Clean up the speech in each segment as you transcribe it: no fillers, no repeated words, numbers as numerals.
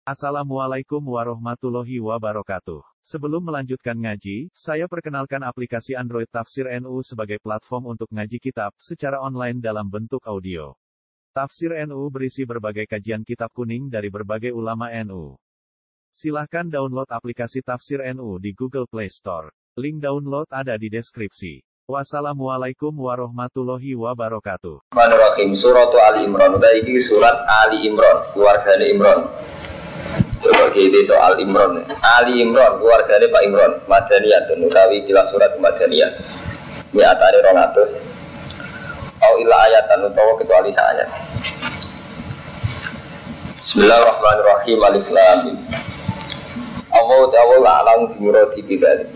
Assalamualaikum warahmatullahi wabarakatuh. Sebelum melanjutkan ngaji, saya perkenalkan aplikasi Android Tafsir NU sebagai platform untuk ngaji kitab secara online dalam bentuk audio. Tafsir NU berisi berbagai kajian kitab kuning dari berbagai ulama NU. Silahkan download aplikasi Tafsir NU di Google Play Store. Link download ada di deskripsi. Wassalamualaikum warahmatullahi wabarakatuh. Bismillahirrahmanirrahim. Surat Ali Imran. Ini surat Ali Imran, keluarga Imran. Coba kita soal Imran. Ali Imran, keluarganya Pak Imran. Madaniyah, utawi kilas surat Madaniyah. Mi'atani 200. Au illa ayatan utawa kecuali ayat. Bismillahirrahmanirrahim. Alif Lam Mim. Allahu a'lamu bi muradi bidzalik.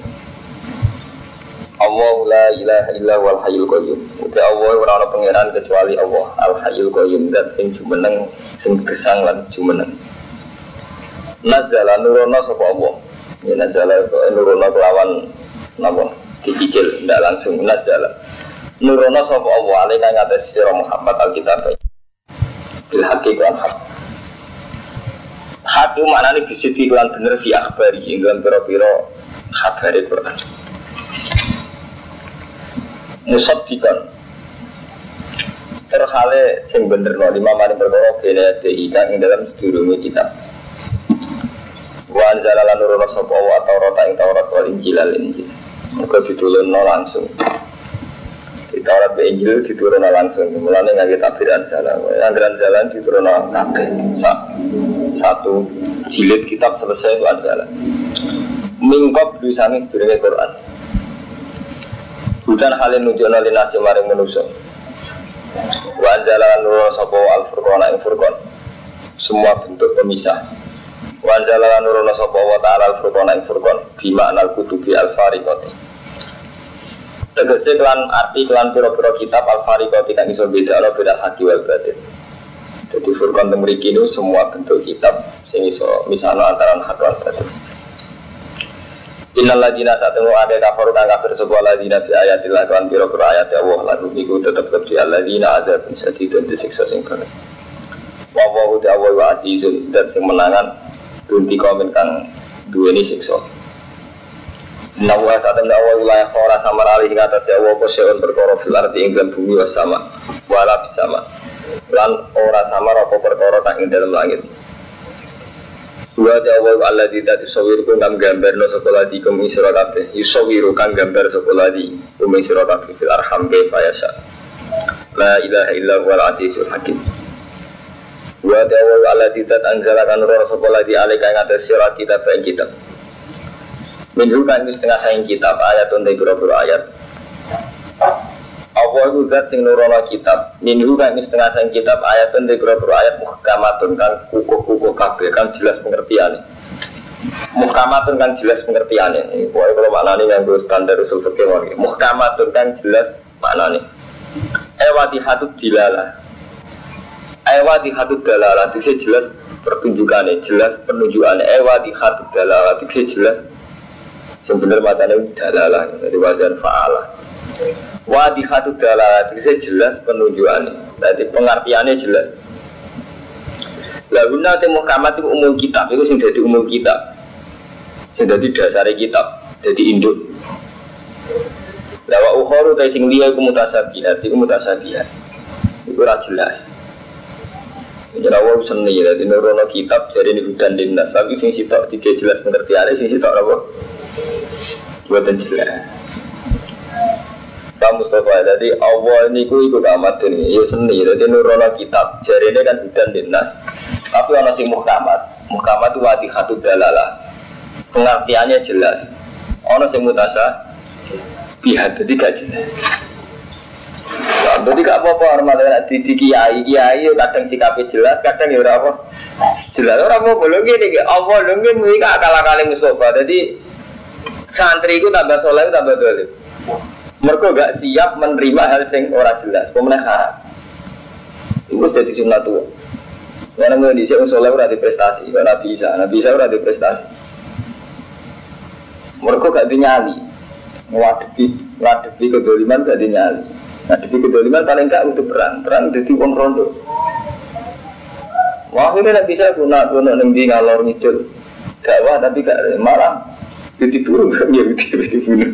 Allahu la ilaha illa huwal hayyul qayyum. Uti Allah ora ana pangeran kecuali Allah, Al Hayyul Qayyum, zat sing jumeneng, sing gesang lan jumeneng. Nazala nurono sapa Allah. Ya nazala nurono kelawan napa? Dicicil ndak langsung nazala. Nurono sapa Allah alika ngatas sira Muhammad Alkitab. Bil haqiqan haq. Hak itu maknane bisiti lan bener fi akhbari ing dalam pira-pira kabare Quran. Musaddiqan terhale sing bener no lima mari perkara bene dika ing dalam sedurunge kitab. Wa anzalalan nurul sapa wa Taurat ing Taurat wal Injil al Injil. Mergo ditulunno langsung. Di Taurat be Injil diturunno langsung. Mulane ngangge tabiran salah. Anggaran jalan diturunno kabeh. Satu jilid kitab selesai itu anjalan. Mingkop tulisane sedurunge Quran. Bukan halin nunjukna linasi maring manusia. Wa anzalalan nurul sapa al-furqan ing furqan. Semua bentuk pemisah. Wa anzalalan nurul sapa wa ta'ala al-furqan ing furqan bi ma'nal kutubi al-fariqati. Tegese kelan arti kelan pira-pira kitab al-fariqati kang iso bedakno beda haki wal batin. Jadi furqan teng mriki niku semua bentuk kitab sing iso misahno antara hak lan batin. Innal ladina satemu ada kafir kang kafir sapa ladina bi ayatillah kan pira-pira ayat Allah lalu iku tetep kedhi alladzina adzab sadidun disiksa sing berat. Wa wa ta'ala wa azizun dan sing menangan bunti komen kang duweni siksa. Nawa satem dawa wilayah ora samar alih ing atas ya wa poseon perkara fil ardi ing dalam bumi was sama wala bisama. Lan ora samar apa perkara kang ing dalam langit. Wa ta'ala alladzi tasawwirukum kang gambarno sapa ladi kum isra kabeh. Yusawwiru kang gambar sapa ladi kum isra kabeh fil arham kaifa yasha. La ilaha illa huwal azizul hakim. Wa ta'ala alladzi anzalakan nura sapa ladi alika ing atas sira kitab ing kitab. Minhu kan setengah saing kitab ayatun te pira-pira ayat. Apa iku zat sing nurono kitab? Minhu kan setengah saing kitab ayatun te pira-pira ayat muhkamatun kan kukuh-kukuh kabeh kan jelas pengertiane. Muhkamatun kan jelas pengertiane. Iki pokoke kalau maknane nganggo standar usul fikih wae. Muhkamatun kan jelas maknane. Ewatihatud dilalah. Ewatihatud dalalah itu jelas pertunjukannya, jelas penunjukannya. Ewatihatud dalalah itu jelas sebenarnya macamnya dalalah dari wajan fa'alah. Wadihatud dalalah itu jelas penunjukannya. Jadi pengertiannya jelas. Lalu nanti muhkamat itu umul kitab, itu yang jadi umul kitab, yang jadi dasar kitab, jadi induk. Lawa ukhoru dari sing liya itu mutasabihat, itu mutasabihat. Itu jelas. Jadi awal seni, jadi nurono kitab jadi ini hudan dinas. Tapi sing sitok tiga jelas pengertiannya, sing sitok apa? Buatan jelas. Kamu Mustafa, jadi Allah ini ikut amat ini, ya seni. Jadi nurono kitab jadi ini kan hudan dinas. Tapi orang sing muhkamat, muhkamat itu wadihatud dalalah. Pengertiannya jelas. Orang sing mutasa bihat, jadi gak jelas. Jadi gak apa-apa hormatnya di kiai kadang sikapnya jelas, kadang ya apa jelas. Orang mau belum gini, Allah belum gini akal-akali Mustafa. Jadi santri itu tambah soleh, tambah dolim. Mereka gak siap menerima hal yang orang jelas, pemenang haram. Itu jadi sunnah tua. Karena mau disini soleh udah di prestasi, Nabi Isa udah di prestasi. Mereka gak dinyali, ngadepi kedoliman gak dinyali. Ngadepi kedoliman paling gak untuk perang jadi uang rondo. Wah, akhirnya tidak bisa guna nanti ngalor ngidul dakwah tapi gak malah ditipu ya ditipu.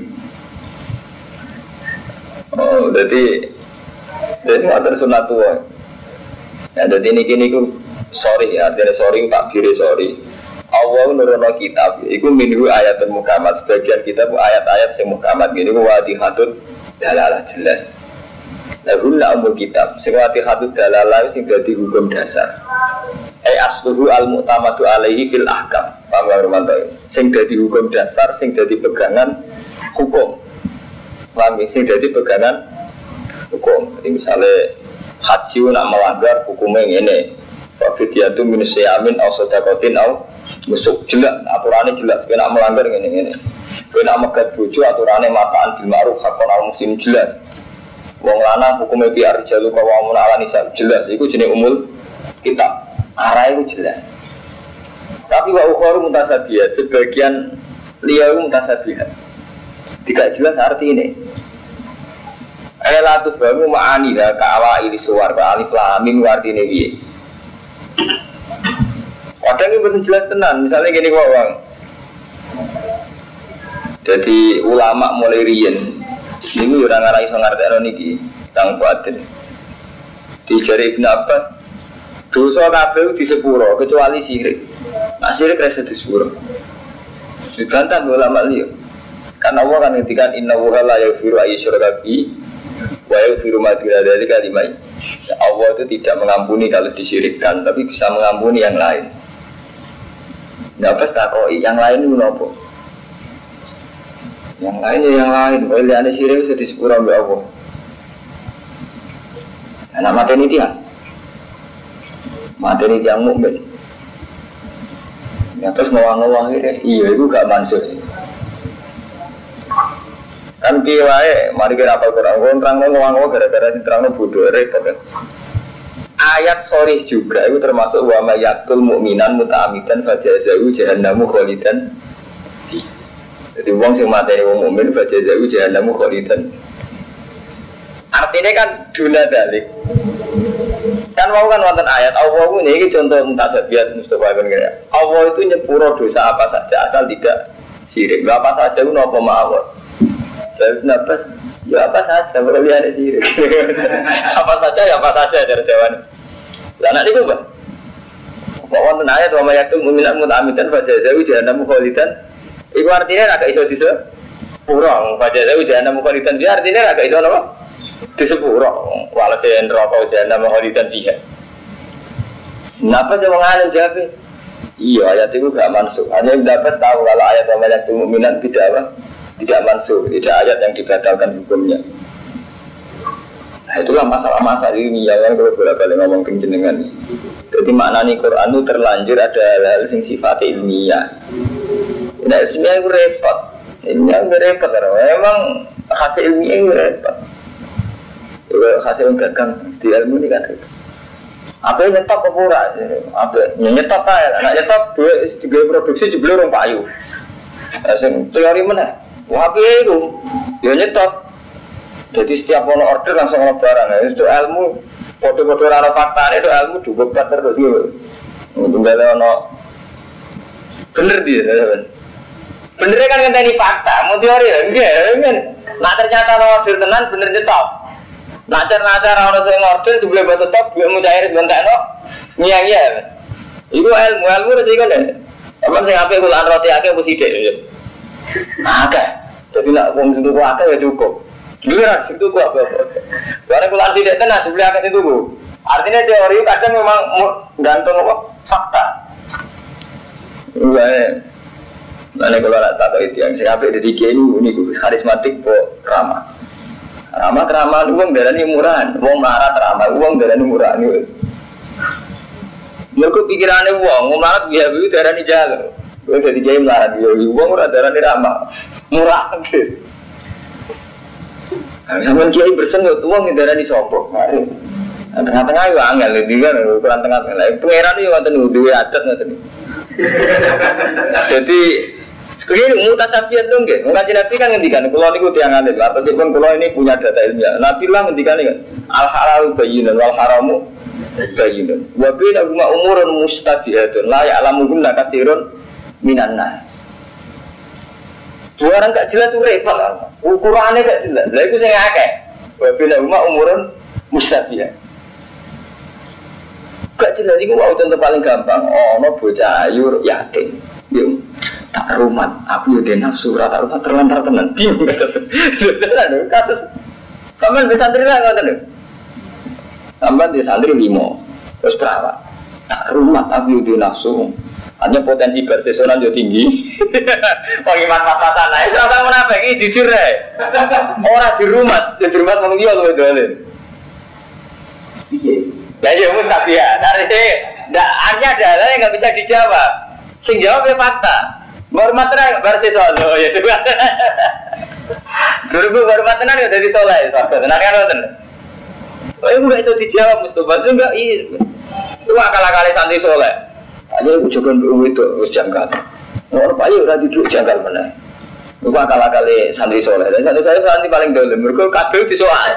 Oh, jadi nggak tersunat tua. Ya, jadi ini ku sorry ya, artinya sorry tak kiri sorry. Allah nurono kitab, itu minhu ayat muhkamat. Sebagian kitab ayat-ayat yang muhkamat gini ku wadihatun dalalah jelas. Lalu umur kitab, sing wadihatun dalalah sing dadi hukum dasar. Asluhu al-mu'tamadu alaihi fil ahkam. Paham ya Romanto? Sing dadi hukum dasar, sing dadi pegangan hukum. Paham ya? Sing dadi pegangan hukum. Jadi misalnya haji nak melanggar hukumnya ini. Fafidiyatu minus yamin au sodakotin au musuk jelas, aturannya jelas. Kena melanggar ini. Kena megat bojo aturannya mataan bil ma'ruf hakon al muslim jelas. Wong lanang hukumnya biar jalu kawamun ala nisa jelas. Itu jenis umul kitab. Arah itu jelas. Tapi wa ukhoru mutasabihat, sebagian liya itu mutasabihat. Tidak jelas arti ini. Latu baru ma'ani ka awa ili suwar ka alif lam mim arti ini piye. Kadang ini betul jelas tenan, misalnya gini wong. Jadi ulama mulai riyen niku ora ngarai iso ngartekno niki, tang kuatir. Dijari Ibnu Abbas dosa kabeh di sepuro kecuali syirik. Nah syirik rasa di sepuro. Dibantah ulama liya. Karena Allah kan ngendikan inna wa la yaghfiru ayyusyraka bihi wa yaghfiru ma duna dzalika liman. Allah itu tidak mengampuni kalau disyirikkan, tapi bisa mengampuni yang lain. Nah pas takoi yang lain itu apa? Yang lain ya yang lain. Oleh ane syirik itu di sepuro mbek Allah. Nah mate ini dia. Materi yang mukmin. Ya terus ngawang-ngawang ini, iya itu gak mansuh. Kan kiai, mari kita apal Quran. Terang ngawang-ngawang gara-gara diterang bodoh repot kan. Ayat sorry juga itu termasuk wa mayatul mukminan muta'amidan fajazahu jahannamu khalidan. Jadi wong sing mateni wong mukmin fajazahu jahannamu khalidan. Artinya kan duna dalik. Kan mau kan wonten ayat Allah ini contoh mutasabihat Mustafa bin Gaya. Allah itu nyepuro dosa apa saja asal tidak syirik. Apa saja itu apa mawon. Saya nafas ya apa saja kalau lihat syirik. Apa saja ya apa saja cara jawaban. Lah nek niku, Pak. Kok wonten ayat wa mayatul mu'minat muta'amidan fajazahu jahannamu khalidan. Iku artinya agak iso disepuro fajazahu jahannamu khalidan. Dia artinya agak iso napa? Disepuro walase neraka jahanam khalidan fiha. Napa sing wong alim jawab? Iya ayat itu gak mansuh. Hanya dapat tahu kalau ayat amalan mukminan tidak mansuh, tidak ayat yang dibatalkan hukumnya. Nah, itulah masalah-masalah ini yang kalau bolak-balik ngomong jenengan. Jadi maknanya Quran itu terlanjur ada hal-hal sing sifat ilmiah. Nah, sebenarnya itu repot. Ini yang repot memang hasil ilmiah itu repot. Hasil gagang di ilmu ini kan apa yang nyetop kepura apa yang nyetop kaya nak nyetop dua tiga produksi jebel orang payu teori mana apa itu ya nyetop jadi setiap ono order langsung ono barang itu ilmu kode-kode rara fakta itu ilmu juga terus gitu tunggal ono bener dia bener kan ngenteni fakta mau teori ya enggak kan nah ternyata order tenan bener nyetop nacar-nacar orang yang order sebelum bahasa top dia mau cair bentakno nyiang-nyiang itu ilmu resiko deh apa sih apa kulaan roti akeh apa sidik akeh jadi nak ngomong situ akeh ya cukup giliran situ apa karena kulaan sidik tenan sebelum akeh itu artinya teori kadang memang gantung apa fakta enggak mana kalau tak tahu itu yang saya apa jadi kiai ini karismatik kok ramah ramah keramaan uang darani murahan, uang melarat ramah uang darani murahan. Mereka pikirannya uang melarat biar biar darani jalan. Gue jadi kiai melarat biar uang murah darani ramah murah. Namun kiai bersenut uang darani sombong. Tengah-tengah itu angel, jadi kan ukuran tengah-tengah. Pengeran itu nggak tahu dua adat nggak tahu. Jadi begini mutasabihat dong ke, ngaji Nabi kan ngendikan, kalau niku tiang alim, meskipun kalau ini punya data ilmiah, Nabi lah ngendikan kan, al halal bayyinun wal haramu Bayyinun. Wa bainahuma umurun mustabihatun la ya'lamuhunna katsirun minan nas. Dua orang gak jelas itu repot kan. Ukurannya gak jelas. Lah iku sing akeh. Wa bainahuma umurun mustabihat. Gak jelas iku wae contoh paling gampang. Ono bocah ayu yatim. Yo tak rumat, aku yo den nafsu ora tak rumat terlantar tenan. Bingung kan. Kasus sampean di santri lah ngoten lho. Sampean di santri 5. Terus perawat. Tak rumat aku yo den nafsu. Hanya potensi bersesonan yo tinggi. Wong iman pas-pasan ae ora menapa iki jujur ae. Ora di rumah ngomong yo luwe dole. Piye? Lah yo mesti tak ya. Dari ndak hanya ada yang enggak bisa dijawab. Sing jawab ya fakta. Hormat tenan bersesonan. Oh ya sudah. Dulu hormat tenan yo dadi saleh, sahabat. Tenan kan ngoten. Oh enggak iso dijawab Mustofa itu enggak itu akal-akale santri saleh. Aja ujokan itu wis janggal. Ora payu ora duduk janggal meneh. Iku akal-akale santri saleh. Dan santri saya santri paling dolen mergo kabeh disoal.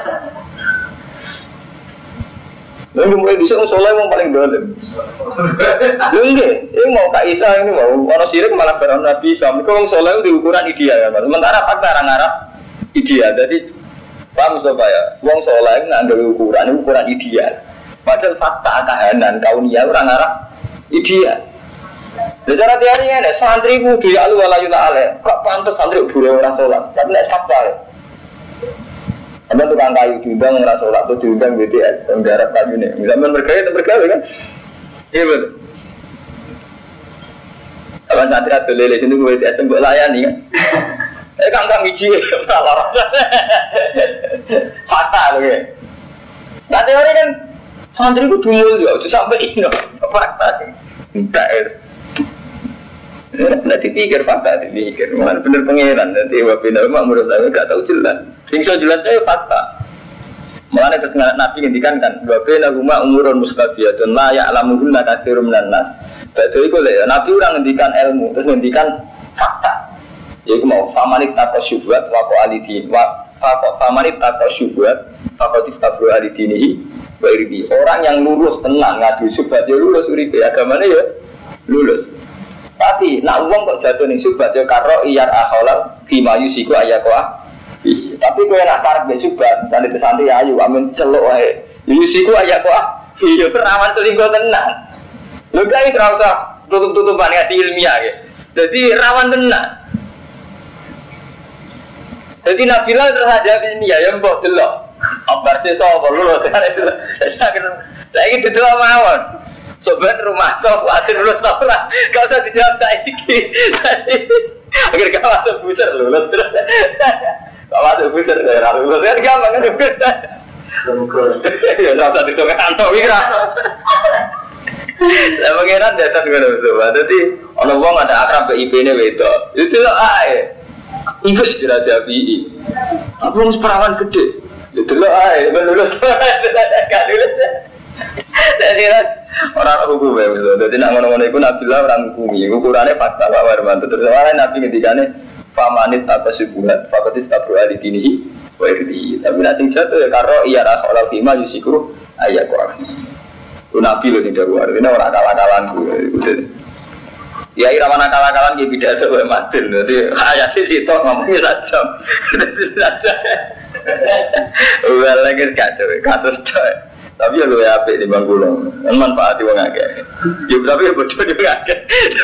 Lalu mulai bisa saleh wong paling dolen. Lho nggih, ini mau Kak Isa ini mau ono sirik malah barang Nabi Isa. Mergo wong saleh di ukuran ideal kan. Sementara fakta orang Arab ideal. Jadi paham Mustafa ya, wong saleh nganggo ukuran ideal. Padahal fakta kahanan kauniyah orang Arab ideal. Secara teori ini, santri kudu ya alu wala yula ale. Kok pantas santri buru ora salat? Tapi nek fakta. Ada tukang kayu diundang ora salat, tuh diundang BTS, penggarap kayune. Misalnya bergaya kan? Iya betul. Kawan santri ada lele sini BTS tembok layani kan? Kang hiji malah fakta loh ya. Nah teori kan santri kudu mulya, itu sampai ini fakta. Enggak nanti pikir fakta, dipikir malah bener pengeran nanti wabina menurut saya nggak tahu jelas singso jelasnya fakta malah terus Nabi ngendikan kan wabina rumah umurun mustabiyatun la ya'lamuhunna katsirun minan nas berarti itu lah Nabi orang ngendikan ilmu terus ngendikan fakta yaitu mau famanit takwa syubhat wako alidin famanit takwa syubhat wako distabru alidinihi wa irbi orang yang lulus tenang ngadu syubhat ya lulus uripe agamanya ya lulus. Tapi nak wong kok jatuh ning subhat ya karo iyar akholal bima yusiku ayakoa. Tapi kowe nak parek mek subhat, misale santri ayu amin celuk wae. Yusiku ayakoa. Iya perawan selingkuh tenan. Lho gak wis ora usah tutup-tutupan ngaji ilmiah ya. Jadi rawan tenan. Jadi Nabila terus aja ilmiah ya mbok delok. Abar sesa apa lho saya iki didelok mawon. Sobat rumah kau khawatir lulus tak pernah kau usah dijawab saya ini agar kau masuk buser lulus terus kau masuk buser daerah lulus kan gampang kan ya rasa ditunggu kantor wira saya pengiran datang dengan sobat jadi orang wong ada akrab ke IP ini beto itu loh ikut sudah jadi aku harus perawan gede itu loh lulus gak lulus jadi orang hukum ya misalnya, jadi nak ngono-ngono itu Nabilah orang hukumi, ukurannya fakta Pak Warmanto. Terus awalnya Nabi ketikanya famanit apa subuhat, fakotis tabru alidinihi, wa irdi. Tapi nasi jatuh ya karo iya rasulullah fima yusiku ayat korafi. Itu Nabi loh tidak luar, ini orang akal-akalan gue. Ya irawan akal-akalan dia tidak ada boleh mati. Jadi ayatnya situ ngomongnya saja, saja. Udah lagi kacau, kasus coy. Tapi ya lu ya apik di bangkulong, kan manfaati wong akeh. Ya tapi ya bodoh juga akeh.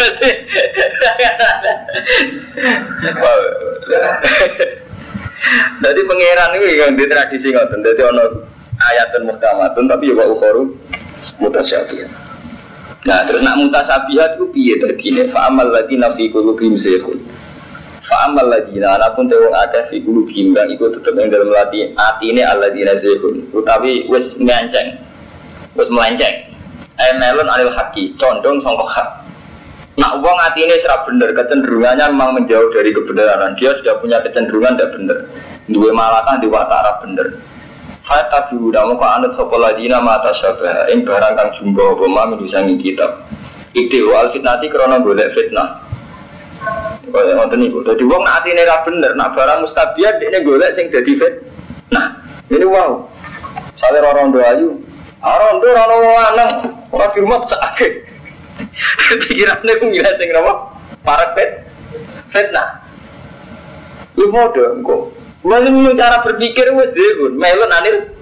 Jadi pangeran itu yang di tradisi ngoten. Jadi ono ayatun muhkamatun tapi ya wa ukharu mutasyabihat. Nah, terus nak mutasyabihat ku piye dadine? Fa amal ladina fi qulubihim zayghun. Fa'amal ladina anapun tewong akeh fi qulubihim kang iku tetep ing dalem atine alladina zayghun utawi wis nganceng wis melenceng melon alil haqi condong sangka hak nak wong atine ora bener kecenderungannya memang menjauh dari kebenaran dia sudah punya kecenderungan tidak bener duwe malakah di watara bener fa tabiu damu ka anut sapa ladina mata syabah ing barang kang jumbo apa mami disangi kitab iki wal fitnati krana golek fitnah. Kaya ngoten niku. Dadi wong nek atine ra bener, nak barang mustabiat dekne golek sing dadi fit. Nah, ini wow. Sale rondo ayu, Rondo ora ono lanang, ora di rumah sakit. Pikirane ku ngira sing napa? Parek fitnah. Lu modho engko. Mungkin cara berpikir wis dhewe, melon anir.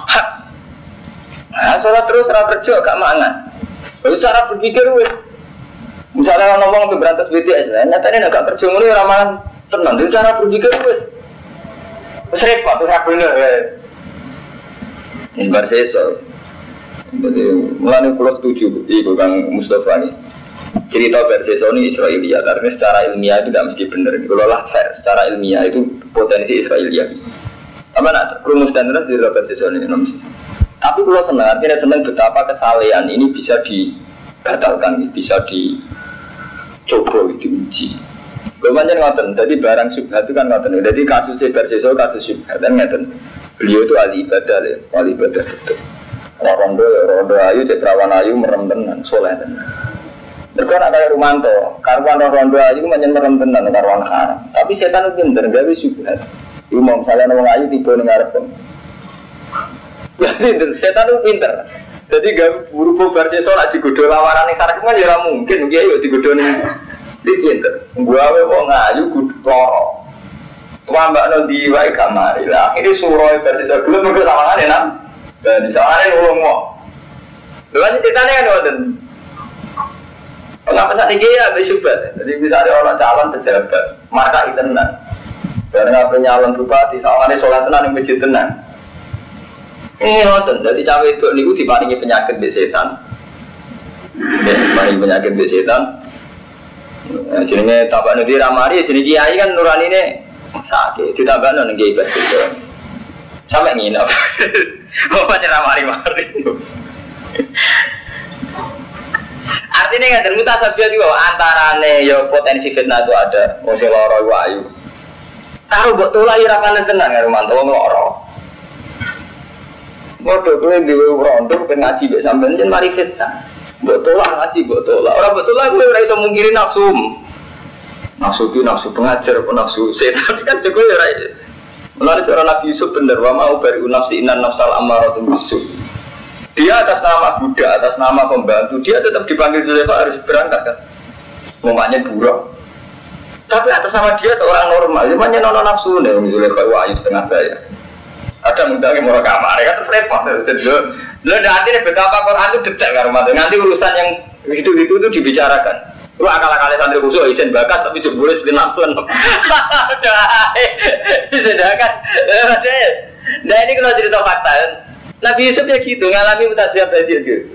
Nah, salat terus ora kerja gak mangan. Itu cara berpikir wis. Misalnya ngomong berantas BTS, nyatane nek gak kerja ngono ora mangan tenan. Itu cara berpikir wis. Wis repot, wis ra bener. Ini barseso. Jadi mulane kula setuju iku Kang Mustofa ini. Cerita barseso ini Israiliyat, artinya secara ilmiah itu tidak mesti benar. Kalau lah fair, secara ilmiah itu potensi Israiliyat. Apa nak rumus dan terus di barseso ini mesti. Tapi kalau senang, artinya senang betapa kesalehan ini bisa dibatalkan, bisa dicoba, diuji. Kemudian ngoten, jadi barang syubhat itu kan ngoten. Jadi kasus barseso, kasus syubhat kan ngoten. Beliau itu ahli ibadah ya, ahli ibadah betul. Rondo ayu, cetrawan ayu, merem tenan, soleh tenan. Mereka nak kaya Rumanto, karuan rondo ayu menyen merem tenan, karuan haram. Tapi setan itu pinter, gawe syubhat. Iku mau misalnya orang ayu tiba ning ngarep. Jadi setan itu pinter. Jadi gawe buru-buru barseso nak digodho lawaran ning sareng kan ya ora mungkin, kiai yo digodho ning pinter. Gawe wong ayu kudu loro. Wambakno di wae kamari lah. Akhire suroe barseso gelem mergo sawangane nang. Dan di sana ini ulung mau. Lalu ceritanya kan wonten. Kenapa saat ini ya bersubhat. Jadi misalnya orang calon pejabat, marka tenan. Karena penyalon bupati, sawangannya sholat tenan yang masjid tenan. Ini wonten. Jadi cawe itu niku diparingi penyakit be setan. Diparingi penyakit be setan. Jenenge tabakno di ramari, jenenge kiai kan nuranine sakit. Ditabakno ning kiai bersih. Sampai nginep. Bapaknya ramari-mari. Artinya nggak termutasabia juga antarane ya potensi fitnah itu ada. Mesti loro wayu. Taruh buat tulah ira panas tenan karo mantau loro. Bodoh kowe dhewe rondo ben ngaji mek sampean yen mari fitnah. Buat tulah ngaji buat tulah. Ora buat tulah kowe ora iso mungkiri nafsu. Nafsu ki nafsu pengajar apa nafsu setan kan kowe ora. Melalui cara Nabi Yusuf benar, wa mau bari nafsi inan nafsal ammaratun bisu. Dia atas nama Buddha, atas nama pembantu, dia tetap dipanggil Zulekha harus berangkat kan. Ngomongnya buruk. Tapi atas nama dia seorang normal, cuma nono nafsu nih Zulekha wahyu setengah daya. Ada mudahnya mau kamar kan terus repot. Lo nanti betapa Quran itu detek kan rumah. Nanti urusan yang itu dibicarakan. Lu akal-akalnya santri khusus isen bakat tapi jebule sing nafsuan. Sedangkan nah ini kalau cerita fakta Nabi Yusuf ya gitu ngalami mutasiab banjir gitu.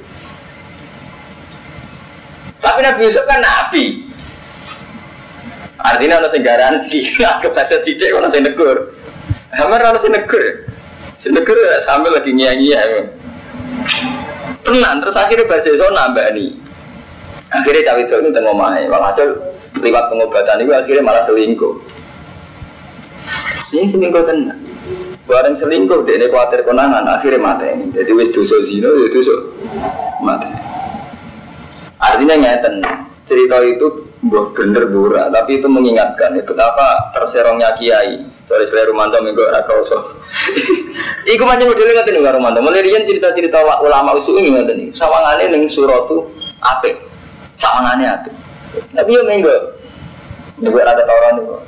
Tapi Nabi Yusuf kan nabi. Artinya ono sing garansi, anggap saja sithik ono sing negur. Hamar ono sing negur. Sing negur sambil lagi nyanyi-nyanyi. Tenang terus akhirnya Barseso nambah nih. Akhirnya cawe itu tengok omahnya, walhasil lewat pengobatan itu akhirnya malah selingkuh. Ini selingkuh tenan. Bareng selingkuh, dia ini khawatir konangan, akhirnya mati ini. Jadi wis dosa zina, ya dosa mati. Artinya ngeten, cerita itu bener burak, tapi itu mengingatkan ya, betapa terserongnya kiai. Dari Sri Rumanto minggu Rakoso. Iku macam modelnya ngeten nih Rumanto. Mulai cerita-cerita ulama usul ini ngeten nih. Sawangane ning suratu apik. Sawangane apik. Tapi yo minggu rada tawuran itu.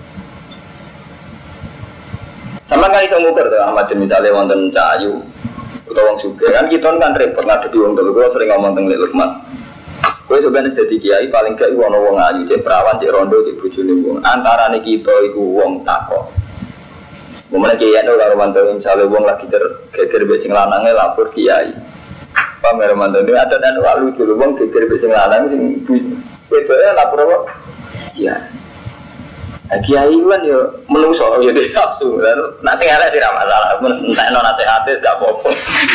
Sama kan iso ngukur tuh Ahmad misalnya wonten Cahayu utawa wong sugih kan kita kan repot ngadepi wong telu. Kulo sering ngomong teng Lek Lukman. Kowe sebenarnya dadi kiai paling gak iku ana wong ayu, cek perawan, cek rondo, cek bojone wong. Antarane kita iku wong takok. Mulane kiai ora mantau insya wong lagi geger mbek sing lanange lapor kiai. Pamer mantau ini ada dan lalu dulu wong geger mbek sing lanang sing wedoke lapor apa? Iya. Kiai kan yo menungso yo dhewe nafsu. Nek sing arek ora masalah, mun entekno nasihate gak apa-apa.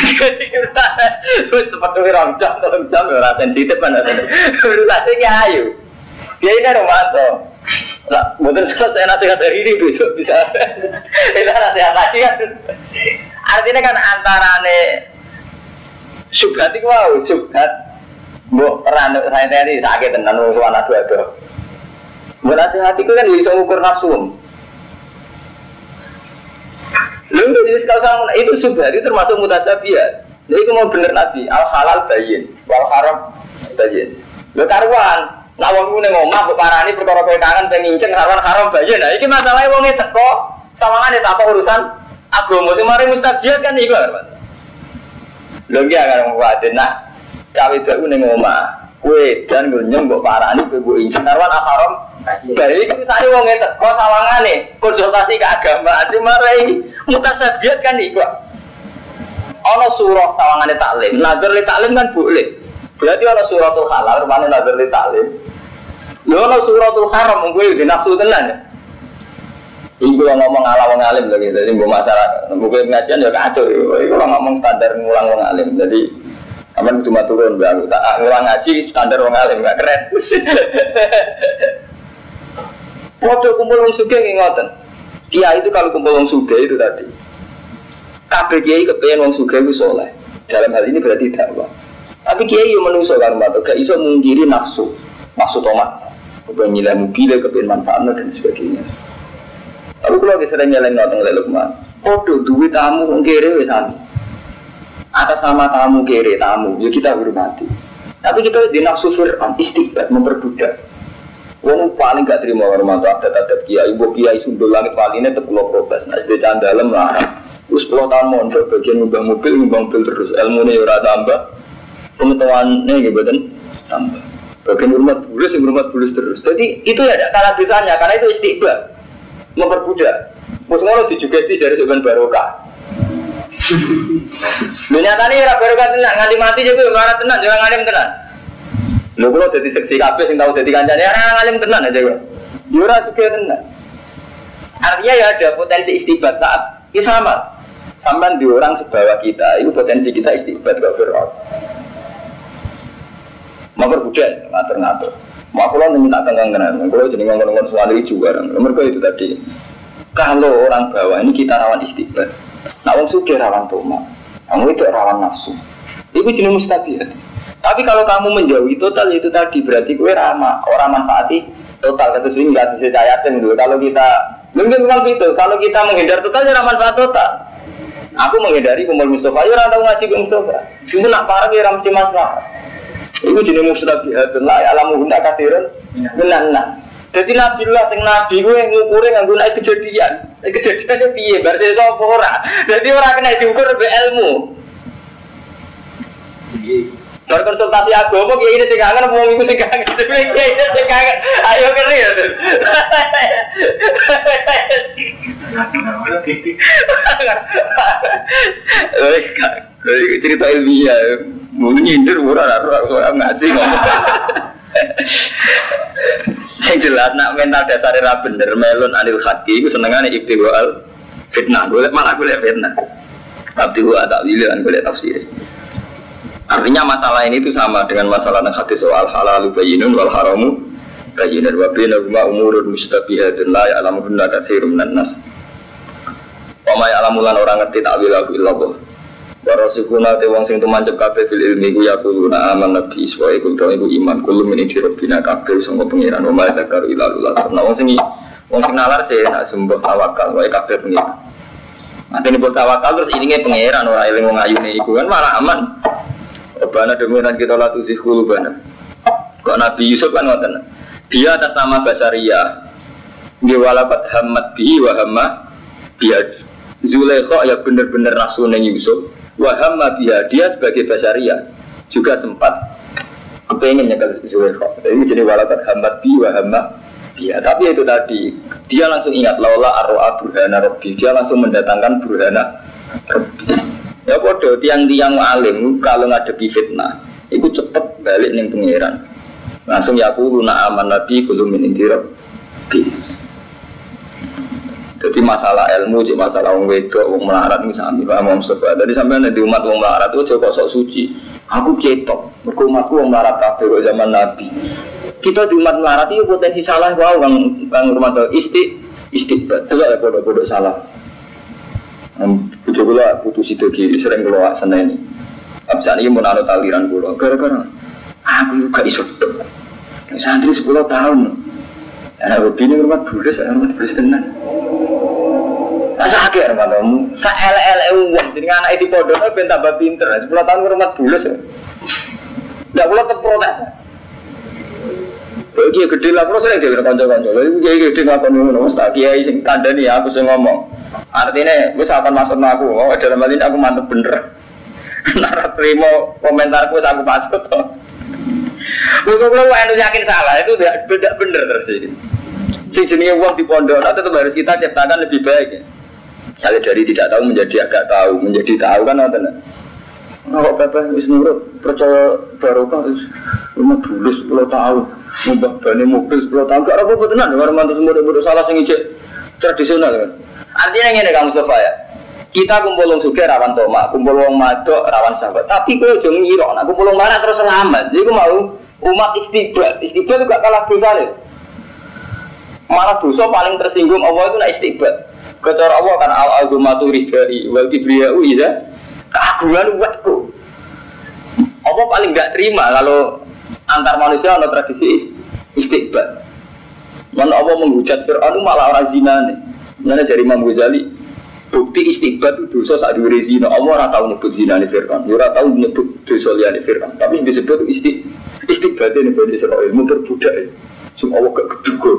Wis seperti orang jam ora sensitif kan. Urusane kiai. Kiai nek romanto. Lah, mboten selesai nasihat hari ini besok bisa. Itu nasihat lagi kan. Artinya kan antarane subhat iku wae, subhat mbok peran saya tadi sakit tenan wong suwana ado-ado. Mbok nasihat iku kan iso ngukur nafsu. Lalu jadi kalau itu subhat itu termasuk mutasabiyat. Jadi itu mau bener Nabi, al halal bayin, wal haram bayin. Lho karuan, nak wong ku ning omah kok parani perkara kowe kangen pengen nginceng haram bayin. Nah iki masalahe wonge teko sawangane tak urusan agama sing mari mustabiat kan iku kan. Lho iki akan kuwate nak cawe deku ning omah. Kowe dan nyong mbok parani kowe nginceng karuan haram. Baik iki misale wonge teko sawangane konsultasi keagamaan sing mari mutasabiat kan iku. Ana surah sawangane taklim, nazar li taklim kan boleh. Berarti ana suratul halal, mana nazar li taklim. Lho ana suratul haram mung kowe nafsu tenan ya. Iku ngomong ala wong alim lho gitu. Dadi mbok masyarakat, mungkin pengajian ya kacau. Iku ngomong standar ngulang wong alim. Jadi aman cuma turun baru tak ngulang ngaji standar wong alim gak keren. Waktu kumpul wong sugih ngoten. Kiai itu kalau kumpul wong sugih itu tadi kabeh kiai kepengen wong sugih wis saleh. Dalam hal ini berarti dakwah. Tapi kiai yo menungso kan Pak, gak iso mungkiri nafsu tomat. Kepengen nilai mobil, kepengen manfaatnya dan sebagainya. Tapi kalau kita sering nyeleng ngoten lek Lukman, podo duwe tamu wong kere wis sami. Atas nama tamu kere tamu, ya kita hormati. Tapi kita di nafsu fir'an istiqbat memperbudak. Wong paling gak terima hormat adat-adat kiai, ibu kiai sundul langit paline tekulo protes. Nah, sedhe candalem larang. Terus 10 tahun mondok bagian ngubah mobil terus ilmunya ora tambah, pengetahuannya gitu tambah. Bagian hormat bulus terus. Jadi itu ya tidak kalah dosanya karena itu istiqbal memperbudak. Musuh dijugesti dari sebenarnya barokah. Nyatane ora barokah tenan nganti mati juga ora tenan, jangan ngalim tenan. Lho kula dadi seksi kabeh sing tau dadi kancane ora ngalim tenan aja kok. Yo ora sugih tenan. Artinya ya ada potensi istiqbal saat ini sama. Sampai di orang sebawah kita, itu potensi kita istiqbat gak berat. Mau berbudak, ngatur-ngatur. Mau aku lalu minta tenggang-tenggang, kalau jadi ngomong-ngomong soal itu juga. Mereka itu tadi, kalau orang bawah ini kita rawan istiqbat. Nah, orang sudah rawan toma, kamu itu rawan nafsu. Itu jenis mustabiat. Tapi kalau kamu menjauhi total itu tadi berarti kue ramah, orang manfaati total. Kata swing nggak sesuai ayatin dulu. Kalau kita mungkin memang gitu, kalau kita menghindar total, ya manfaat total. Aku menghindari kumpul Mustafa, ya orang tahu ngaji ke Mustafa. Cuma nak parah ya ramai masalah. Itu jenis mustabihatun lah, alamu guna kathirun menanas. Jadi Nabiullah sing nabi gue ngukurin nganggo nek kejadian. Kejadiannya piye? Berarti sapa ora. Jadi ora kena diukur be ilmu. Berkonsultasi agama kiai ini sing kangen wong iku sing kangen. Kiai ini sing kangen. Ayo keri ya. Cerita ilmiah, mungkin nyindir murah orang ngaji ngomong. Yang jelas nak mental dasar era bener melon anil haki, itu senengannya ibtiwal fitnah, malah boleh fitnah. Tapi gua tak pilihan boleh tafsir. Artinya masalah ini itu sama dengan masalah hadis soal halal bayyinun wal haramu bayyinun wa bainahuma umurun mustabihatun la ya'lamuhunna katsirun minan nas. Wa ma ya'lamulan orang ngerti ta'wilahu illallah. Wa rasikuna te wong sing tumancep kabeh fil ilmi ku yaquluna amanna bi iswa iku iku iman kullu min indi rabbina kabeh sanga pangeran wa ma dzakaru illa lillah. Nah wong sing nalar sih nak sembah tawakal wae kabeh pangeran. Matene bol tawakal terus ilinge pangeran ora eling wong ayune iku kan malah aman. Bana demikian kita latih zikul bana. Kok Nabi Yusuf kan ngoten. Dia atas nama Basariyah. Dia walakat hamad bi wa hamma biad. Zulaikha ya benar-benar rasulnya Yusuf. Wa hamma biad dia sebagai Basariyah juga sempat kepengen nyekel Zulaikha. Ini jadi walakat hamad bi wa hamma biad. Tapi itu tadi dia langsung ingat laula arwa burhana rabbi. Dia langsung mendatangkan burhana rabbi. Ya bodoh, tiang-tiang alim kalau ngadepi fitnah itu cepet balik ning pangeran. Langsung ya aku luna aman nabi kudu min indirab. Jadi masalah ilmu, jadi masalah wong wedok, wong melarat misalnya Pak Mustafa. Tadi sampean di umat wong melarat itu coba sok suci. Aku ketok, mergo umatku wong melarat kabeh kok zaman nabi. Kita di umat melarat itu potensi salah wae bang rumah istiqbat. Delok ya bodoh-bodoh salah. Bujuk gula putus itu sering keluar sana ini. Abis ini mau nano taliran gula. Gara-gara aku juga iso. Santri 10 tahun. Anak begini rumah bulus, tenang. Saat Kaget Romanto. Sa elek-elek wong jenenge anak di pondok ben tambah pinter. 10 tahun rumah bulus. Ndak kula terprotes. Iki gede lah, terus sering dhewe kanca-kanca. Lha iki gede ngakoni ngono, Mas Kiai sing kandhani aku sing ngomong. Artine wis akan maksud aku, oh dalam hal ini aku mantep bener. Nara terima komentarku wis aku maksud to. Kalau anu yakin salah itu tidak bener terus ini. Sing jenenge wong di pondok tetap harus kita ciptakan lebih baik. Misalnya dari tidak tahu menjadi agak tahu, menjadi tahu kan ngoten. Oh, Bapak wis nurut percaya barokah terus rumah bulus 10 tahun. Mbak bani mobil 10 tahun gak apa-apa tenan karo mantu semua salah sing ijek tradisional kan. Artinya ngene Kang Mustafa ya. Kita kumpul wong sugih rawan tomak, kumpul wong madok rawan sahabat. Tapi kowe aja ngira nek kumpul wong marah terus selamat. Iku mau umat istighfar. Istighfar juga kalah dosane. Malah dosa paling tersinggung Allah itu nek istighfar. Kecara Allah kan al-azumatu ridai wal kibriya'u iza keagungan umatku. Allah paling enggak terima kalau antar manusia ada tradisi istighfar. Mana Allah menghujat Fir'aun malah orang zina nih. Mana dari Imam Ghazali bukti istighfar itu dosa saat diwiri zina. Allah ora tahu nyebut zina nih Fir'aun, ora tahu nyebut dosa liane Fir'aun. Tapi disebut istighfar ini Bani Israil memperbudak. Semua Allah gak keduga.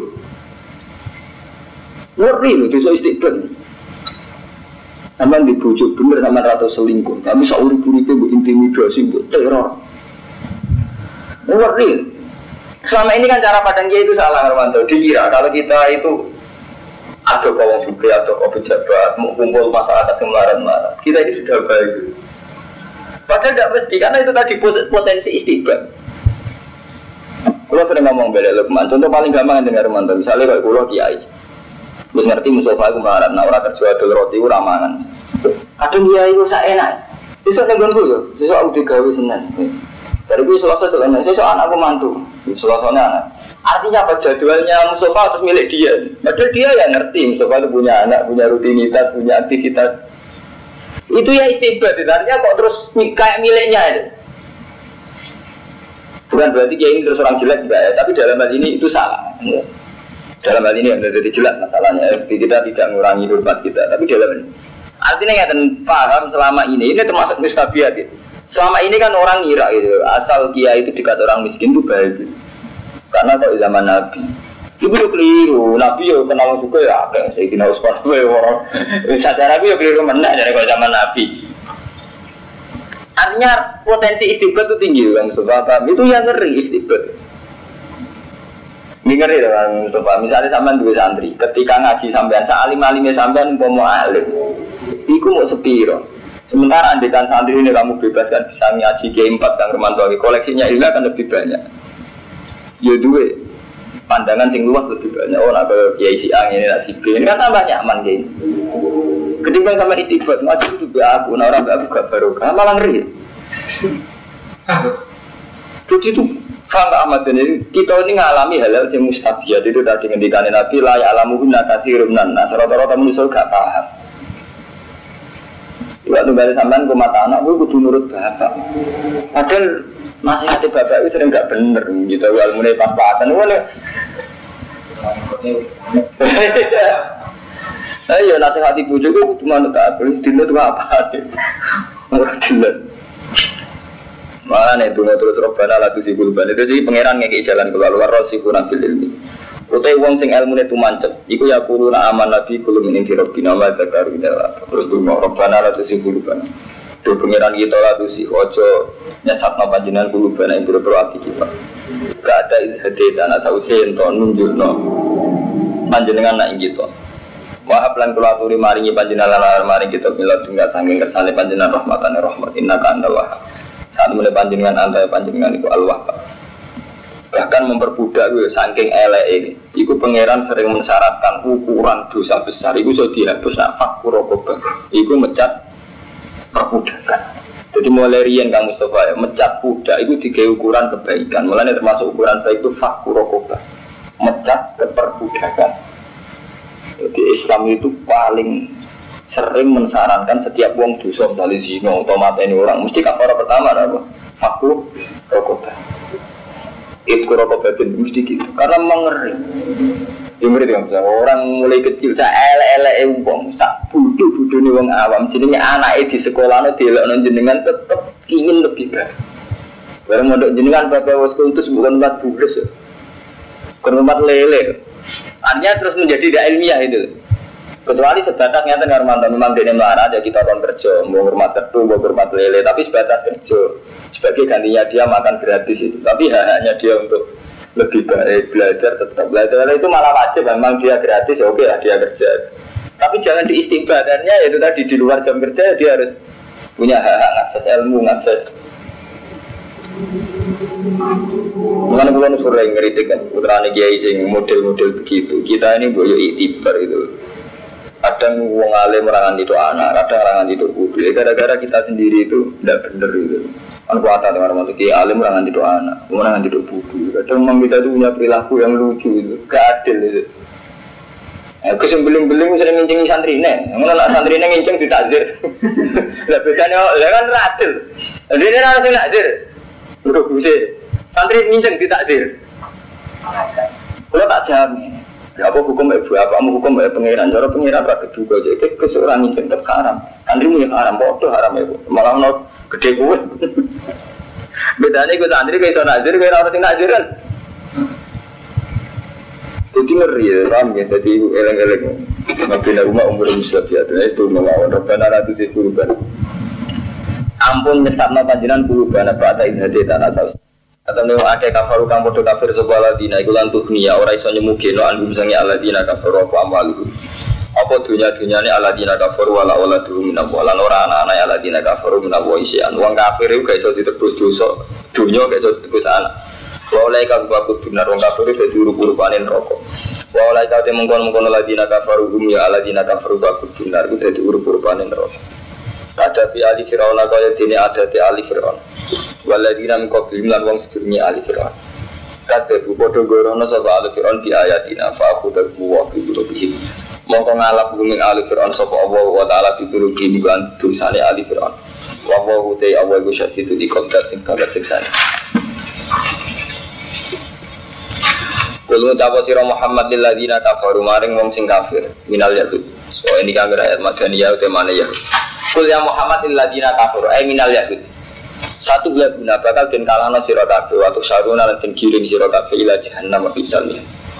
Ngeri loh dosa istighfar. Aman dibujuk bener sama rata selingkuh. Kami sauri-uripe mbok intimidasi, mbok teror. Ngeri. Selama ini kan cara pandang dia itu salah Armanto. Dikira kalau kita itu ada kawan juga atau pejabat mau kumpul masyarakat semelaran-melaran, kita ini sudah baik. Padahal tidak mesti karena itu tadi potensi istighfar. Kalau sering ngomong bela Lukman, contoh paling gampang dengar Armanto. Misalnya kalau kulo kiai, terus ngerti Mustafa aku melarat, nah orang kerja adol roti aku ramangan. Kadang kiai itu saya enak. Besok nenggonku yo, besok aku digawe Senin. Dari gue Selasa jalan, saya anakku mantu, Selasanya anak. Artinya apa jadwalnya Mustafa harus milik dia. Padahal dia ya ngerti Mustafa itu punya anak, punya rutinitas, punya aktivitas. Itu ya istighfar. Artinya kok terus kayak miliknya itu. Bukan berarti dia ini terus orang jelek juga ya. Tapi dalam hal ini itu salah. Dalam hal ini yang jadi jelas masalahnya. Kita tidak mengurangi hormat kita. Tapi dalam ini. Artinya nggak paham selama ini termasuk mustabiat gitu. Selama ini kan orang ngira gitu, asal kiai itu dekat orang miskin itu baik gitu. Karena kalau zaman Nabi itu keliru, Nabi ya kenal juga ya apa saya kena uspan orang saja Nabi ya keliru mana dari kalau zaman Nabi. Artinya potensi istighfar itu tinggi kan Mustafa, itu yang ngeri istighfar. Ini ngeri kan Mustafa, misalnya sampean dua santri, ketika ngaji sampean salim-alimnya sampean mau alim, iku mau sepiro. Sementara andekan santri ini kamu bebaskan bisa ngaji G4 dan Romanto koleksinya ini akan lebih banyak. Ya dua pandangan sing luas lebih banyak. Oh nak ke Kiai si A ini nak si B ini kan tambah nyaman gini. Ketika sama istighfar ngaji itu juga aku, nah orang aku gak barokah malah ngeri. Jadi itu faham Ahmad ini kita ini ngalami hal-hal yang mustabiat itu tadi ngendikanin Nabi la ya'lamuhum nakasirun nas rata-rata manusia gak paham. Waktu balik sampean ke mata anak, gue kudu nurut bapak. Padahal nasihatnya bapak itu sering gak bener gitu. Kalau mulai pas-pasan, iya nasihat ibu juga cuma tak boleh dinut apa? Orang jelas. Malah nih dunia terus robbana latu si gulban itu sih pangeran ngekik jalan keluar rosiku nabil ilmi. Utai wong sing ilmu itu mancep. Iku ya kuruna aman nabi kulum ini dirobina wa zakaru indah. Terus dunia robbana latu si gulban. Do pangeran kita latu si ojo nyesat no panjenengan gulban yang buru-buru hati kita. Gak ada hati tanah sausen to nunjuk no panjenengan nak gitu. Wahab lan kula aturi maringi panjenengan lan maring kita mila tunggal saking kersane panjenengan rahmatane rahmat innaka antal wahhab. Saat mulai panjenengan antara panjenengan itu al-wahhab. Bahkan memperbudak itu saking elek ini. Iku pangeran sering mensyaratkan ukuran dosa besar. Iku sudah dihapus nak fakkur rokobah. Iku mecat perbudakan. Jadi mulai rian Kang Mustafa ya, mecat budak itu tiga ukuran kebaikan. Mulanya termasuk ukuran baik itu fakkur rokobah. Mecat keperbudakan. Jadi Islam itu paling sering mensarankan setiap wong dosa dari zina atau mateni orang mesti kafara pertama apa? Fakku rokobah. Itu rokobah itu mesti gitu. Karena mengeri. Yang ngeri kan orang mulai kecil saya elek-elek wong sak Budu nih wong awam, jenenge anake di sekolah delokno jenengan tetep ingin lebih baik. Bareng mondok jenengan bapak wis kultus bukan empat bules ya. Bukan empat lele. Artinya terus menjadi tidak ilmiah itu. Kecuali sebatas nyata ngarmanto memang dene melarat ya kita kon kerja, mau hormat tetu, mau hormat lele, tapi sebatas kerja. Sebagai gantinya dia makan gratis itu. Tapi hanya dia untuk lebih baik belajar tetap belajar itu malah wajib, memang dia gratis ya oke lah dia kerja. Tapi jangan diistighbarkannya yaitu tadi di luar jam kerja dia harus punya hak akses ilmu, akses. Mengenai bulan sore ngeritik kan putrane kiai sing model-model begitu. Kita ini boyo iktibar itu. Kadang wong alim merangan itu anak, kadang merangan itu putu. Gara-gara kita sendiri itu tidak benar itu. Kan kuat ada orang mati alim merangan itu anak, merangan itu putu. Kadang memang kita itu punya perilaku yang lucu itu, gak adil itu. Kesembeling-beling sering ngincing santri nih, mengenai santri nih ngincing ditakzir. Lah bedanya, kan adil. Jadi ini harus ditakzir. Udah bisa, santri ngincing ditakzir. Kalau tak jamin, ya apa hukum ibu, apa kamu hukum pengiran, cara pengiran berarti juga. Jadi keseorang ngincing tetap haram. Santri punya haram, bodoh haram ya bu. Malah no gede gue. Bedanya gue santri kayak so nazir, kayak orang nazir kan. Jadi ngeri ya, paham ya, jadi eleng-eleng mabina rumah umur musab ya, itu melawan Rabbana ratu si suruban ampun nyesatna panjinan puluhan apa ada inhati tanah saus atau memang ada kafaru kang podo kafir sebuah ladina iku lantuh niya ora iso nyemugeno anggum sangi aladina kafaru apa amalu apa dunia-dunia ini aladina kafaru wala dulu minabwa lan ora anak-anak aladina kafaru minabwa isian uang kafir itu gak iso ditebus dosa dunia gak iso ditebus anak walai kau bakut benar orang kafir itu diuruk-uruk panen rokok. Walai kau temungkon ladina kafaru ya ladina kafaru bakut benar itu diuruk-uruk panen rokok. Ada di ali Firaun kau yang dini ada di ali Firaun. Waladina mengkobil lan wong sedurunge ali Firaun. Kata bodoh gorono sapa ali Firaun di ayatina fa aku terbuah di lebih. Mongko ngalap bumi ali Firaun sapa Allah wa taala pituluki diban tulisane ali Firaun. Wa wa te awal go syati itu di kontak sing kaget siksane. Kulo tapo sira Muhammad lil ladina kafaru maring wong sing kafir minal yahud. So ini kan ayat madaniyah utamane ya. Kul ya Muhammad lil ladina kafaru ay minal yahud. Satu bulan guna bakal den kalahno sira kabeh waktu saruna lan den giring sira kabeh ila jahannam bisalnya.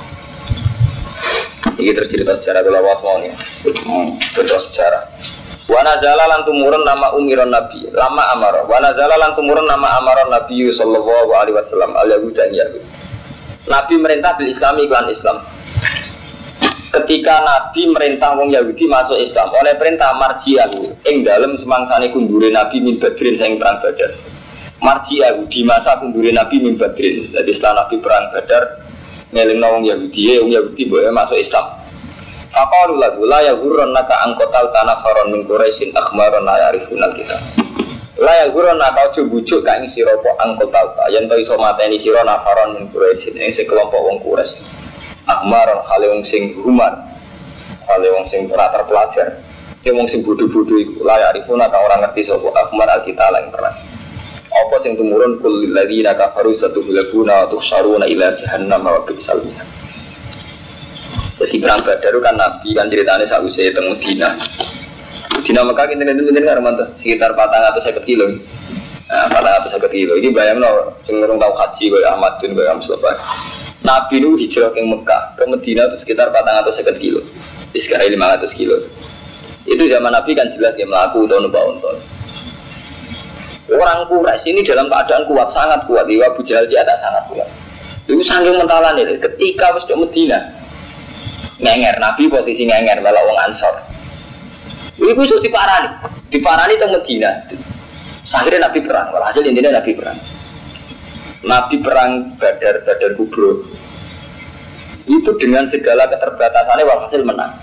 Iki tercerita sejarah kula wasmone. Betul sejarah. Wa nazala lan tumurun nama umiron nabi lama amara. Wa nazala lan tumurun nama amaron nabi sallallahu alaihi wasallam al yahuda yahud. Nabi merintah bil Islami iklan Islam. Ketika Nabi merintah wong Yahudi masuk Islam oleh perintah marji'ahu ing dalem semangsane kundure Nabi min Badrin sing perang Badar. Marji'ahu di masa kundure Nabi min Badrin. Jadi setelah Nabi perang Badar ngelingno wong Yahudi boleh masuk Islam. Faqalu lahu la yaghurrannaka angkotal tanafaron min Quraisyin akhmaron la ya'rifunal kitab. Layak guru nak kau coba bujuk kau isi rokok angkot talta, yang tahu iso mateni siro nafaron min Quraisyin, yang sekelompok wong Quraisy. Ahmaron hale wong sing humar, hale wong sing rata pelajar, yang wong sing bodoh-bodoh itu layak rifuna kau orang ngerti sopo ahmar alkitab yang perang. Apa sing tumurun kul lagi nak kafaru satu bilaguna atau saruna ila jahannam wa bisalnya. Jadi perang Badar kan Nabi kan ceritanya sausai teng Madinah. Dina Mekah kinten-kinten Armanto sekitar 450 kilo. Nah, 450 kilo. Ini bayangno sing urung tau haji kaya Ahmad bin Muhammad Mustafa. Nabi nu hijrah ke Mekah ke Madinah itu sekitar 450 kilo. Sekarang 500 kilo. Itu zaman Nabi kan jelas dia melaku atau numpak unta. Orang Quraisy ini dalam keadaan kuat, sangat kuat. Di Abu Jahal dia tak sangat kuat. Itu saking mentalan itu. Ketika wis di Madinah, ngenger Nabi posisi ngenger malah wong Ansor. Iku iso diparani teng Madinah. Akhirnya Nabi perang, hasil intinya Nabi perang. Nabi perang Badar Kubro. Itu dengan segala keterbatasannya walhasil menang.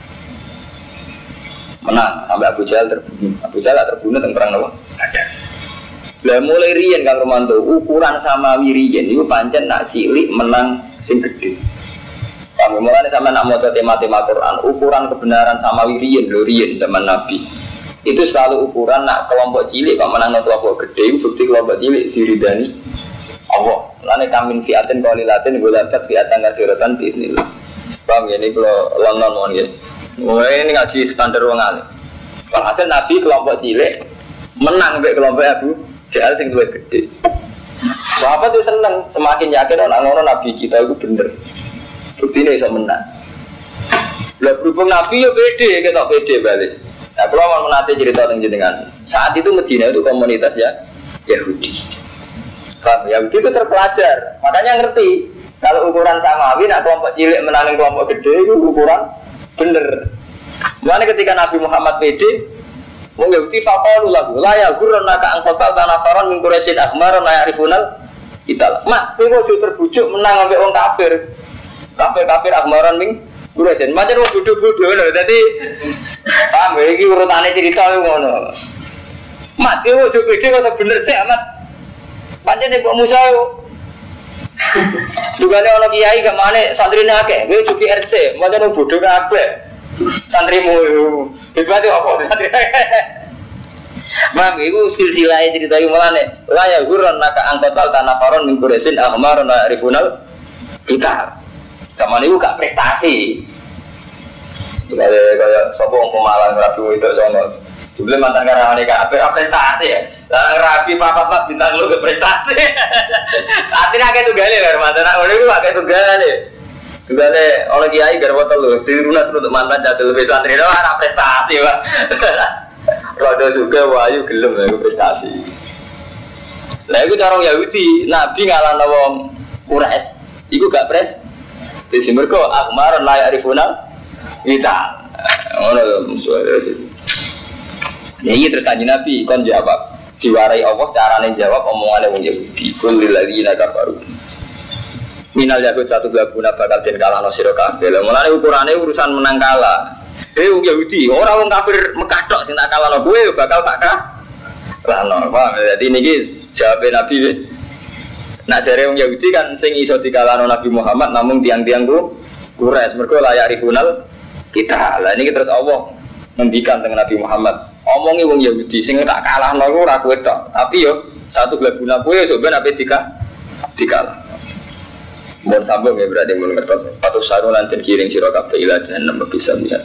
Sampai Abu Jahal terbunuh. Abu Jahal terbunuh teng perang apa? Badar. Lah mulai riyen Kang Romanto, ukuran Samawi riyen iku pancen nak cilik menang sing gedhe. Kami mulai sama nak mau tema-tema Quran, ukuran kebenaran Samawi riyen zaman Nabi. Itu selalu ukuran nak kelompok cilik kok menang kelompok gede, bukti kelompok cilik diridani Allah. Lane kamin fiatin qalilatin gulabat fiatan katsiratan bismillah. Paham ya ini kalau London mon ya. Mulai ini ngaji standar wong alim. Walhasil Nabi kelompok cilik menang mbek kelompok Abu Jahal sing luwih gede. Sahabat itu seneng, semakin yakin orang-orang Nabi kita itu bener. Buktinya bisa menang. Lah berhubung Nabi ya pede, kita pede balik. Nah, kalau mau menanti cerita tentang jenengan, saat itu Medina itu komunitas ya Yahudi. Paham? Yahudi itu terpelajar, makanya ngerti kalau ukuran samawi, nak kelompok cilik menangin kelompok gede itu ukuran bener. Makanya ketika Nabi Muhammad pede, mau Yahudi faqalu lahu la yaghurrannaka an qatal tanafaron min Quraisyin akhmaron la ya'rifunal kita. Mak, kowe ojo terbujuk menang ambek wong kafir. Kafir akhmaron min Quraisyin. Macam wong bodho-bodho lho. Dadi paham iki urutane cerita ngono. Mak, kowe ojo pede kok bener sik amat. Pancen Mbok Musa yo. Dugane ana kiai gak mane santrine akeh, kowe ojo RC, macam wong bodho kabeh. Santrimu hebat apa santri Mam itu silsilah cerita yang mulane la ya gurran naka angkotal tanafaron min Quraisyin ahmarun la rifunal kita kapan itu gak prestasi kayak sapa wong Pemalang rapi itu sono jebule mantan karyawane kabeh prestasi ya lan rapi papat bintang lu ke prestasi artinya akeh tunggale lho mantan ngono iku akeh tunggale Gimana orang kiai garwa telu dirunat untuk mantan jatuh lebih santri itu ada prestasi pak. Rodo juga wahyu gelem ya prestasi. Lah itu cara Yahudi Nabi ngalahno wong Quraisy, iku gak pres. Di sini mereka akmar layak rifunal kita. Ono suara itu. Ya iya terus kanjeng Nabi kon jawab diwarai Allah carane jawab omongane wong Yahudi. Kul lil ladzina kafaru. Minal Yahud satu gabuna bakal den kalah no sira kabeh. Lah mulane ukurane urusan menang kalah. Wong Yahudi, ora wong kafir Mekah tok sing tak kalahno kowe bakal tak kalahno. Paham? Dadi niki jawabe Nabi. Nak jare wong Yahudi kan sing iso dikalahno Nabi Muhammad namung tiang-tiang Quraisy mergo layak rikunal kita. Lah niki terus Allah ngendikan dengan Nabi Muhammad. Omongi wong Yahudi sing tak kalahno iku ora kowe tok, tapi yo satu gabuna kowe yo ben ape dikalah. Mohon sambung ya berarti mohon ngertos. Patuh saru lantin kiring sira kabeh ila jahannam bisa lihat.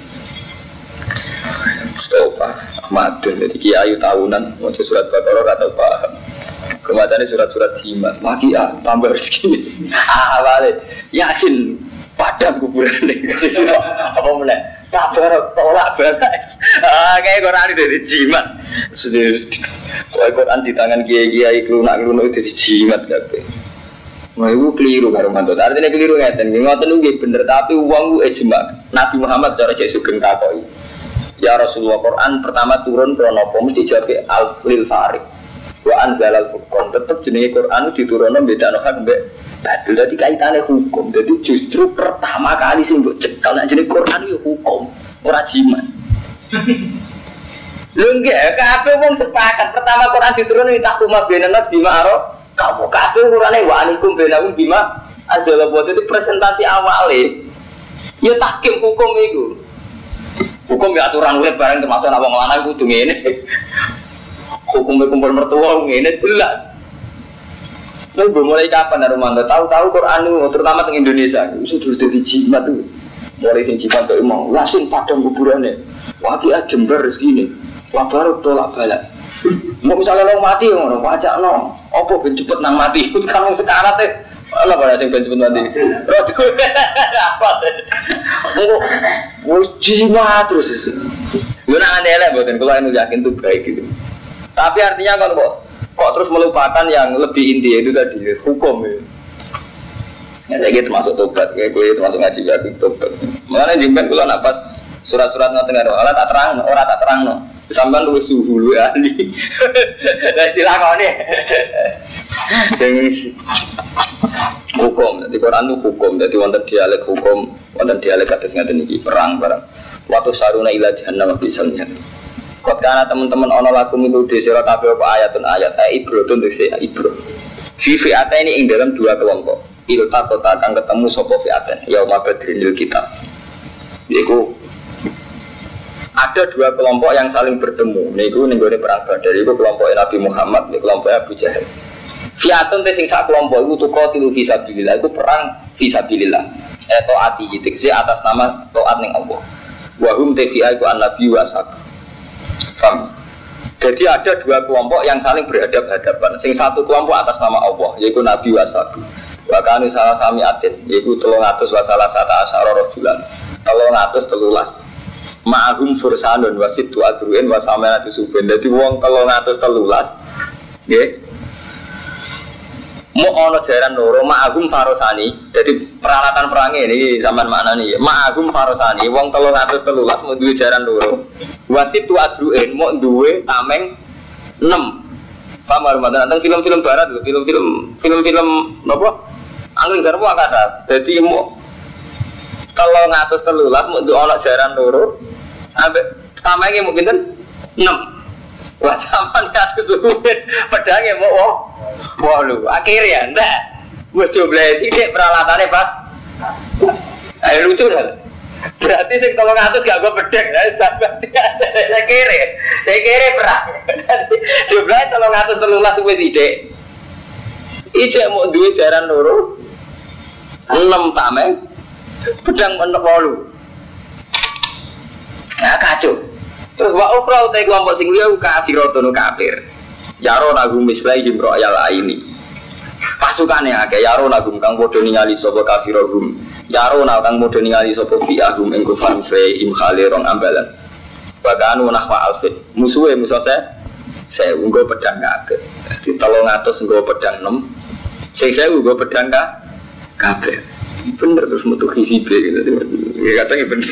Stop. Madun jadi kiai tahunan mau surat Baqarah atau paham. Kemudian surat-surat jimat. Maki tambah rezeki. Awale Yasin padam kuburan ning. Apa meneh? Kabar tolak balas. Kayak Quran itu jimat. Sudah Quran di tangan kiai-kiai kelunak-kelunak itu jimat kabeh. Nah itu keliru karo mantu. Artinya keliru ngeten. Ngoten nggih bener tapi wong ku ijma. Nabi Muhammad cara Yesus sugeng takoki. Ya Rasulullah Quran pertama turun krana apa mesti jawab al-lil farid. Wa anzalal furqan tetep jenenge Quran diturunno bedakno hak mbek batil. Dadi kaitane hukum. Dadi justru pertama kali sing mbok cekal nek jenenge Quran yo hukum, ora jimat. Lho nggih kabeh wong sepakat pertama Quran diturunno takuma benanas bima arab kamu kabeh urane wa anikum benahum bima azala buat itu presentasi awale ya tahkim hukum itu hukum ya aturan urip bareng termasuk ana wong lanang kudu ngene hukum kumpul mertua ngene jelas lha mulai kapan Romanto tahu-tahu Quran itu terutama di Indonesia itu sudah jadi jimat tuh mulai sing jimat kok emang langsung padang kuburane wati Jember segini wabar tolak balak mau misalnya lo mati ngono pajak no opo ben cepet nang mati kan wong sekarat teh ana pada sing ben cepet mati apa wis jimat terus yo nang elek mboten kula anu yakin itu baik gitu tapi artinya kan kok terus melupakan yang lebih inti itu tadi hukum ya saya gitu termasuk tobat gue termasuk ngaji ya tobat makanya jemben kula nak pas surat-surat ngoten karo Allah tak terang ora tak terangno sampean luwih suhu luwih ahli. Lah dilakoni. Hukum, di Quran itu hukum, jadi wonten dialek hukum, wonten dialek kados ngaten iki perang barang. Waktu saruna ila jahannam bisa lihat. Kok kana teman-teman ana lagu itu di sira kabeh apa ayatun ayat ibro untuk si ibro. Fi'ata ini ing dalam dua kelompok. Ilta kota akan ketemu sapa fi'atan yauma badril kitab. Yaiku ada dua kelompok yang saling bertemu. Niku ning gone perang Badar iku kelompok Nabi Muhammad, ning kelompok Abu Jahal. Fiatun te sing sak kelompok iku tuqatilu fi sabilillah, iku perang fi sabilillah. Taati iki atas nama taat ning Allah. Wa hum te fi iku an-nabi wa sak. Paham? Jadi ada dua kelompok yang saling berhadapan-hadapan. Sing satu kelompok atas nama Allah, yaitu Nabi Wasabi. Bahkan salah sami atin, yaitu 300 wasalah sata asyara rojulan. 313. Ma'ahum fursanun wasitu adruin wasamenatu suben. Jadi wong 313. Nggih. Mau ono jaran loro ma'ahum farosani. Jadi peralatan perangnya ini zaman maknane ya. Ma'ahum farosani wong 313 mau duwe jaran loro. Wasitu adruin mau duwe tameng 6. Paham arep nonton film-film barat lho, film-film napa? Angin garwa kada. Jadi mau 313 mau duwe ono jaran loro. Ambek tamenge mau pinten? 6. Wah sampean kados suwen pedange mau wah lho, akhirnya ndak. Wis jumlahe sithik peralatannya pas. Ayo lucu kan? Berarti sing 300 gak go pedang, saya kere perang. Jumlahnya 313 wis sithik. Ijek mau duwe jaran loro. 6 tameng pedang menep 8. Nah kacau. Terus wa ukra utai kelompok sing liya kafiratun kafir. Yaro nagum mislai himro ayal ini. Pasukane akeh yaro nagum kang padha ningali sapa kafirahum. Yaro nang kang padha ningali sapa bi'ahum ing kufar mislai im khalirong ambalan. Baganu nahwa alfit. Musuhe musuh saya nggo pedang kabeh. Di 300 nggo pedang 6. Sing 1000 nggo pedang kabeh. Bener terus metu hizib gitu. Ya katanya bener.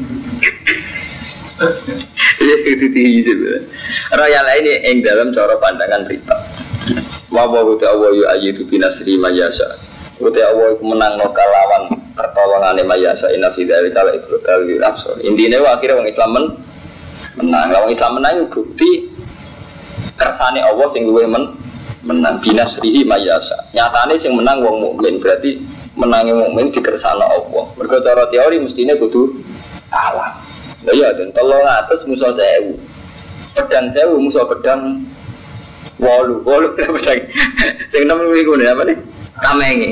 Iya itu hizib. Raya lain yang dalam cara pandangan berita. Wawahu ta'awa yu'ayidu binasri mayasa. Uti Allah menang no kalawan pertolongan mayasa inna fidari kala ibrotal wirafsor. Intinya akhirnya orang Islam menang. Orang Islam menang bukti kersane Allah sing luwih menang binasrihi mayasa. Nyatane sing menang wong mukmin berarti menangi mukmin dikersane Allah. Mergo cara teori mestine kudu Allah. Lah iya den 300 musuh 1000. Pedang 1000 musuh pedang 8 pedang. Sing nemu iku apa nih? Tamenge.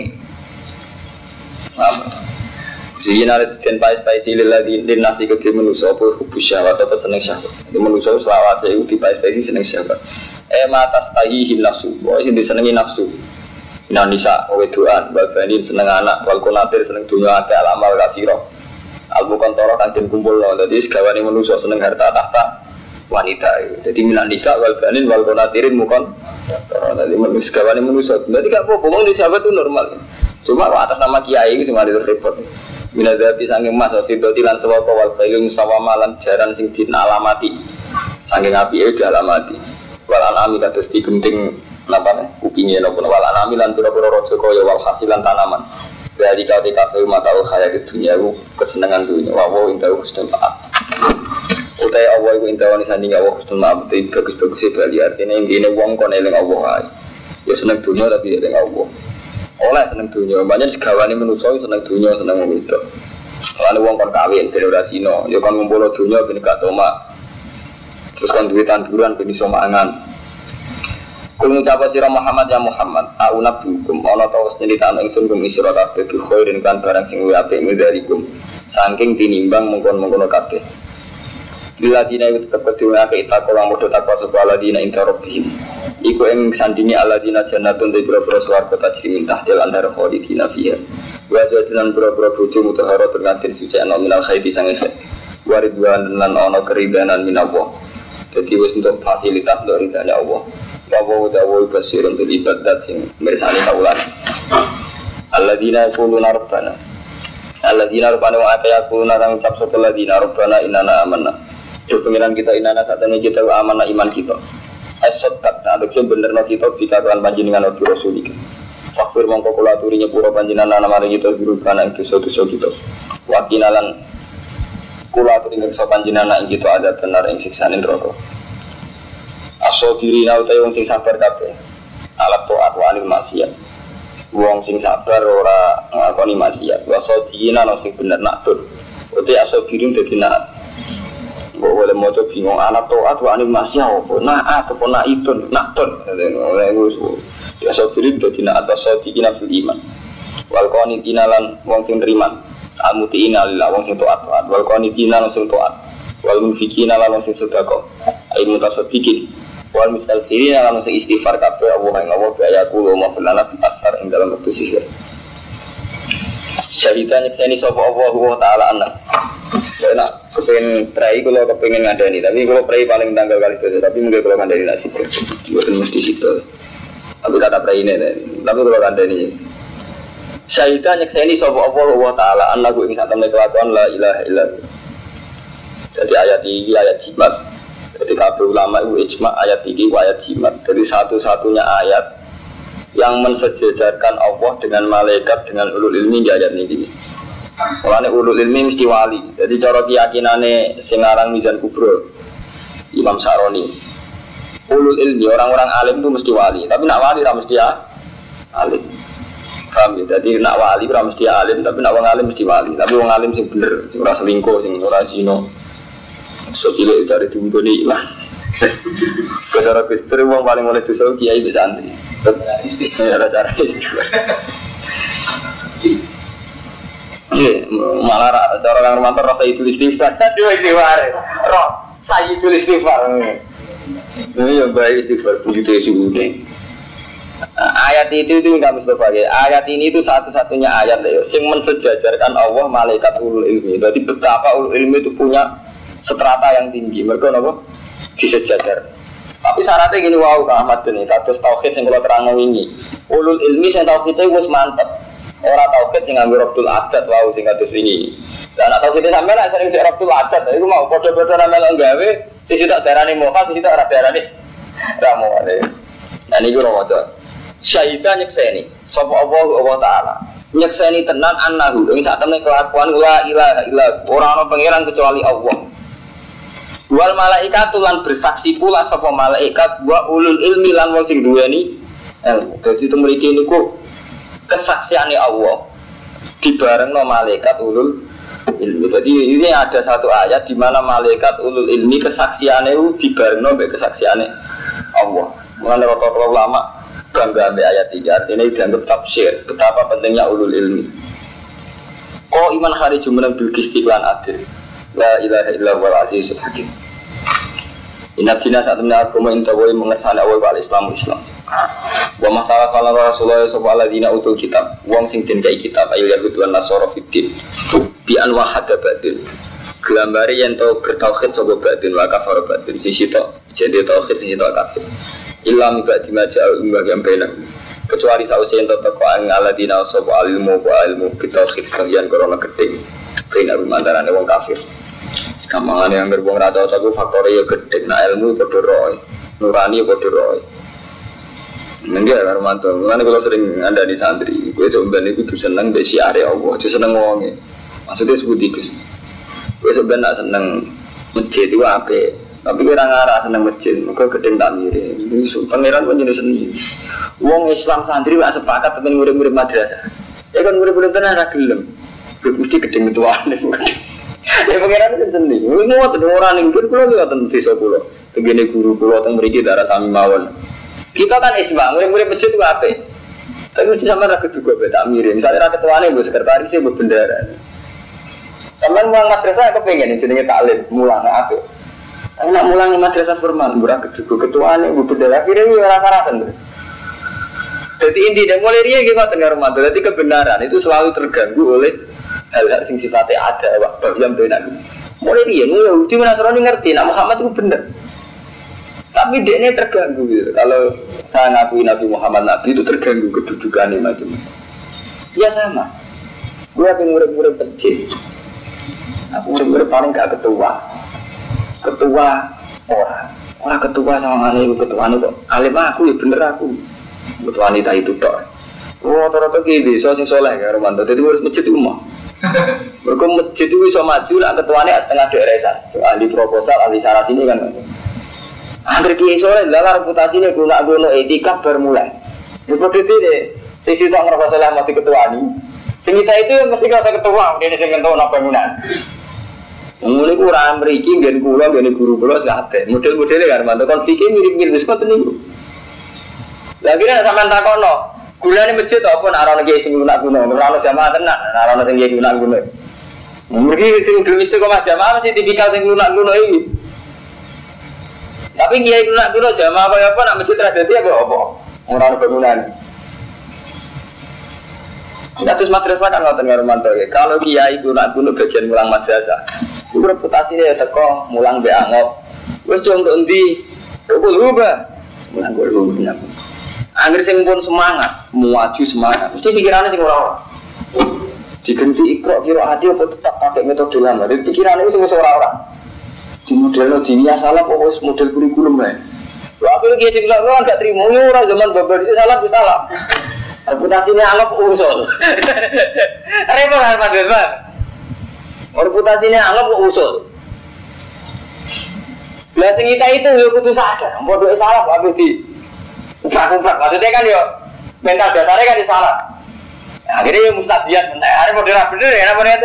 Apa? Sing ana den pai-pai lagi den nasi ke manusa apa hubus syahwat apa seneng syahwat. Di manusa selawase iku di pai-pai seneng syahwat. Matas tahihi nafsu. Wah sing disenengi nafsu. Nisa wedoan, balbanin seneng anak, wal kunatir seneng dunya akeh alamal kasiro. Al-Bukhantara kan den kumpul lho. Dadi segawane manusa seneng harta tahta wanita. Jadi minan nisa wal banin wal qanatirin mukon. Dadi manusa segawane manusa. Dadi gak apa-apa wong di sahabat itu normal. Cuma atas nama kiai iki sing mari repot. Minadzabi saking mas fidoti lan sawaka wal khailu musawama lan jaran sing dinalamati. Saking apike dialamati. Wal anami kados digenting napa kupinge napa wal anami lan pira-pira raja kaya wal hasilan tanaman. Dari kau TKP mata khayal di dunia kesenangan dunia wawo indah husnul maaf utai awal itu indah wani sanding awal husnul maaf itu bagus-bagusnya bali artinya intinya wong kon eling Allah ya seneng dunia tapi eling Allah oleh seneng dunia banyak segawani menusoi seneng dunia seneng itu kalau wong kon kawin generasino ya kon ngumpul dunia bini katoma terus kon duit tanduran bini somangan. Kul ngucapa sira Muhammad ya Muhammad, aunab hukum ana ta wis nyritani ingsun kum isra kabeh bi khairin kan barang sing luwih apik midarikum. Saking tinimbang mengkon-mengkono kabeh. Bila dina itu tetep kedhiwake itakola modho takwa sapa aladina inta rabbihim. Iku ing sandinge aladina jannatun te boro-boro swarga tajri min tahtil andhar khalidina fiha. Wa zajinan boro-boro bojo mutahara tergantin suci ana minal khairi sange. Waridwan lan ana keridanan minallah. Jadi wis untuk fasilitas dari ridane Allah. Wawo dawo basirun bil ibadat sing mirsani kaulan. Alladzina yaquluna rabbana. Alladzina rabbana wa yaquluna nang ucap sapa alladzina rabbana inna amanna. Yo pengiran kita inana satene kita amanah iman kita. As-saddaq adekse benerno kita bikaran panjenengan utus rasul iki. Fakir mongko kula aturi nyepuro panjenengan namane kita guru kana ing dosa-dosa kita. Wa kinalan kula aturi ngreksa panjenengan ing kita ada benar ing siksane neraka. Asobirina utai wong sing sabar kabeh. Alat taat wa anil maksiat. Wong sing sabar ora ngakoni maksiat. Wa sodina nang sing bener naktur. Utai asobirin dadi nak. Mbok oleh maca bingung alat taat wa anil maksiat opo? Naat opo naitun, naktur. Oleh wis asobirin dadi nak atas sodina fil iman. Wal qanitina lan wong sing nriman. Al-mutiina lillah wong sing taat. Wal qanitina lan sing taat. Wal munfikina lan wong sing sedekah. Ai mutasaddiqin wal mustaghfirin lan sing istighfar kabeh Allah ing Allah ya kulo maflana bi asar ing dalam wektu sihir. Syahidan nyekseni sapa Allah taala anak. Enak kepengin prai kula kepengin ngandani tapi kula prai paling tanggal kali itu tapi mungkin kula ngandani nasib. Mboten mesti situ. Tapi kata prai ini tapi kula ngandani. Syahidan nyekseni sapa Allah taala anak ing satemene kelakuan la ilaha illallah. Jadi ayat ini ayat jimat. Jadi kabeh ulama itu ijma ayat ini ayat jimat. Jadi satu-satunya ayat yang mensejajarkan Allah dengan malaikat dengan ulul ilmi di ayat ini. Mulane ulul ilmi mesti wali. Jadi cara keyakinane sing aran Mizan Kubro Imam Saroni. Ulul ilmi orang-orang alim itu mesti wali, tapi nak wali ora mesti alim. Paham ya? Jadi nak wali ora mesti alim, tapi nak wong alim mesti wali. Tapi wong alim sing bener, sing ora selingkuh, sing ora zina. So cilik dari tumbone ilang. Cara Gusti wong paling oleh dosa kiai wis santri. Istighfar cara istighfar. Malah cara Kang Romanto rasa itu istighfar. Dua istighfar. Roh Sayyidul Istighfar. Ini yang baik istighfar begitu sudah. Ayat itu enggak Mustafa ya. Ayat ini itu satu-satunya ayat ya yang mensejajarkan Allah malaikat ulul ilmi. Jadi betapa ulul ilmi itu punya strata yang tinggi. Mereka apa? Disejajar. Tapi syaratnya gini wow Kang Ahmad ini kados tauhid yang kalau terang ini. Ulul ilmi yang tauhidnya wis mantep. Orang tauhid sing nganggo Rabbul Adat wow sing kados wingi. Lah nek tauhid sampeyan nek sering sik Rabbul Adat iku mau padha-padha ramel nggawe sisi tak darani moha sisi tak ora darani ramone. Nah niku Ramadan. Syahidan nyekseni sapa Allah taala. Nyekseni tenan annahu ing sak temene kelakuan la ilaha illallah ora ana pangeran kecuali Allah. Wal malaikatu lan bersaksi pula sapa malaikat wa ulul ilmi lan wong sing duweni ilmu. Dadi itu mriki niku kesaksiane Allah dibarengno malaikat ulul ilmi. Jadi ini ada satu ayat di mana malaikat ulul ilmi kesaksiane dibarengno mbek kesaksiane Allah. Mulane rata-rata ulama bangga mbek ayat ini. Artinya dianggap tafsir betapa pentingnya ulul ilmi. Kok iman hari jumeneng bil istiqlan adil. La ilaha illallah azizul hakim. Inna dina saat menyala agama intawai mengersana awal wal Islam. Wa masalah kala Rasulullah sallallahu alaihi wasallam utul kitab. Wong sing den kai kitab ayat Yahud wan Nasara fiddin. Bi anwa hada batil. Gelambare yen to bertauhid sapa batin wa kafar batin sisi to. Jadi tauhid sisi to kabeh. Illa mibadi majal yang benar. Kecuali sausi yen to teko aladina sapa ilmu wa ilmu bitauhid kalian corona gedhe. Benar mantarane wong kafir. Gampangane yang berbong rata satu faktor ya gede, nah ilmu berdoroi, nurani berdoroi. Enggak Armanto, karena kalau sering ada di santri, gue sebenarnya itu seneng besi area Allah, itu seneng ngomongnya. Maksudnya sebut tikus. Gue sebenarnya seneng masjid itu apa? Tapi gue ngarah seneng masjid, maka gede tak mirip. Pangeran pun jadi seni. Wong Islam santri gak sepakat tapi murid-murid madrasah. Ya kan murid-murid tenan ra gelem. Gue mesti gede ketuaan. Ya pengiran itu sendiri. Ini waktu orang ingin pulau juga tentu desa pulau. Begini guru pulau tentang beri darah sami mawon. Kita kan isbang, murid-murid masjid itu apa? Tapi mesti sama rakyat juga beda mirip. Misalnya rakyat tuanya bu sekretarisnya bu bendara. Sama mulang madrasah aku pengen jadi taklim mulang apa? Tapi nak mulang madrasah formal, bu rakyat juga ketuanya bu bendara. Akhirnya ini rasa-rasa. Jadi intinya mulai dia kita dengar mantul. Jadi kebenaran itu selalu terganggu oleh hal-hal sing sifatnya ada wak yang benar. Mulai dia Yahudi Nasrani ngerti nak Muhammad itu benar. Tapi dia ini terganggu gitu. Kalau saya ngakui Nabi Muhammad Nabi itu terganggu kedudukannya macam. Ya sama. Gue pengen murid-murid kecil. Aku murid-murid paling gak ketua. Ketua orang ketua sama aneh ketua itu alim aku ya bener aku. Ketua wanita itu dok. Rata-rata gitu, so sing soleh ya Romanto. Jadi harus masjid umum. Mereka masjid itu bisa maju lah ketuanya setengah daerah so, ahli proposal, ahli saras ini kan hampir kiai soleh lah reputasinya guna etika bermulai seperti itu deh sisi tak ngerasa soleh mati ketua ini sengita itu mesti ngerasa ketua dia disini tahu apa bangunan mulai kurang beriki gen pulau gen guru pulau sekate model-modelnya kan mantu konfliknya mirip-mirip seperti ini lagi nih sampai takono gula ini masjid apa narana kiai sing guna-guna, narana jamaah tenan, narana sing kiai guna-guna. Mungkin sing dulu istiqomah jamaah masih tipikal sing guna-guna ini. Tapi kiai kuno jamaah apa nak masjid tradisi apa? Orang bangunan. Terus madrasah kan ngoten karo mantu. Kalau kiai kuno bagian mulang madrasah, itu reputasinya ya teko mulang be angop. Wis cung tok endi? Kok lupa. Mulang kok lupa. Angger sing pun semangat, muaju semangat. Mesti pikirannya sing ora. Diganti ikro kira hati apa tetap pakai metode lama. Jadi pikirannya itu wis ora-ora. Di model dunia salah kok wis model kurikulum ae. Lha aku iki sing bilang gak trimo ora zaman babar iki salah ku salah. Reputasinya anggap usul. Repot kan Pak Dewan. Reputasinya anggap usul. Lah sing kita itu yo kudu sadar, bodoh salah kok di umprak-umprak. Maksudnya kan yo mental dasarnya kan salah. Akhirnya yo mustabiat, hari model bener ya apa itu?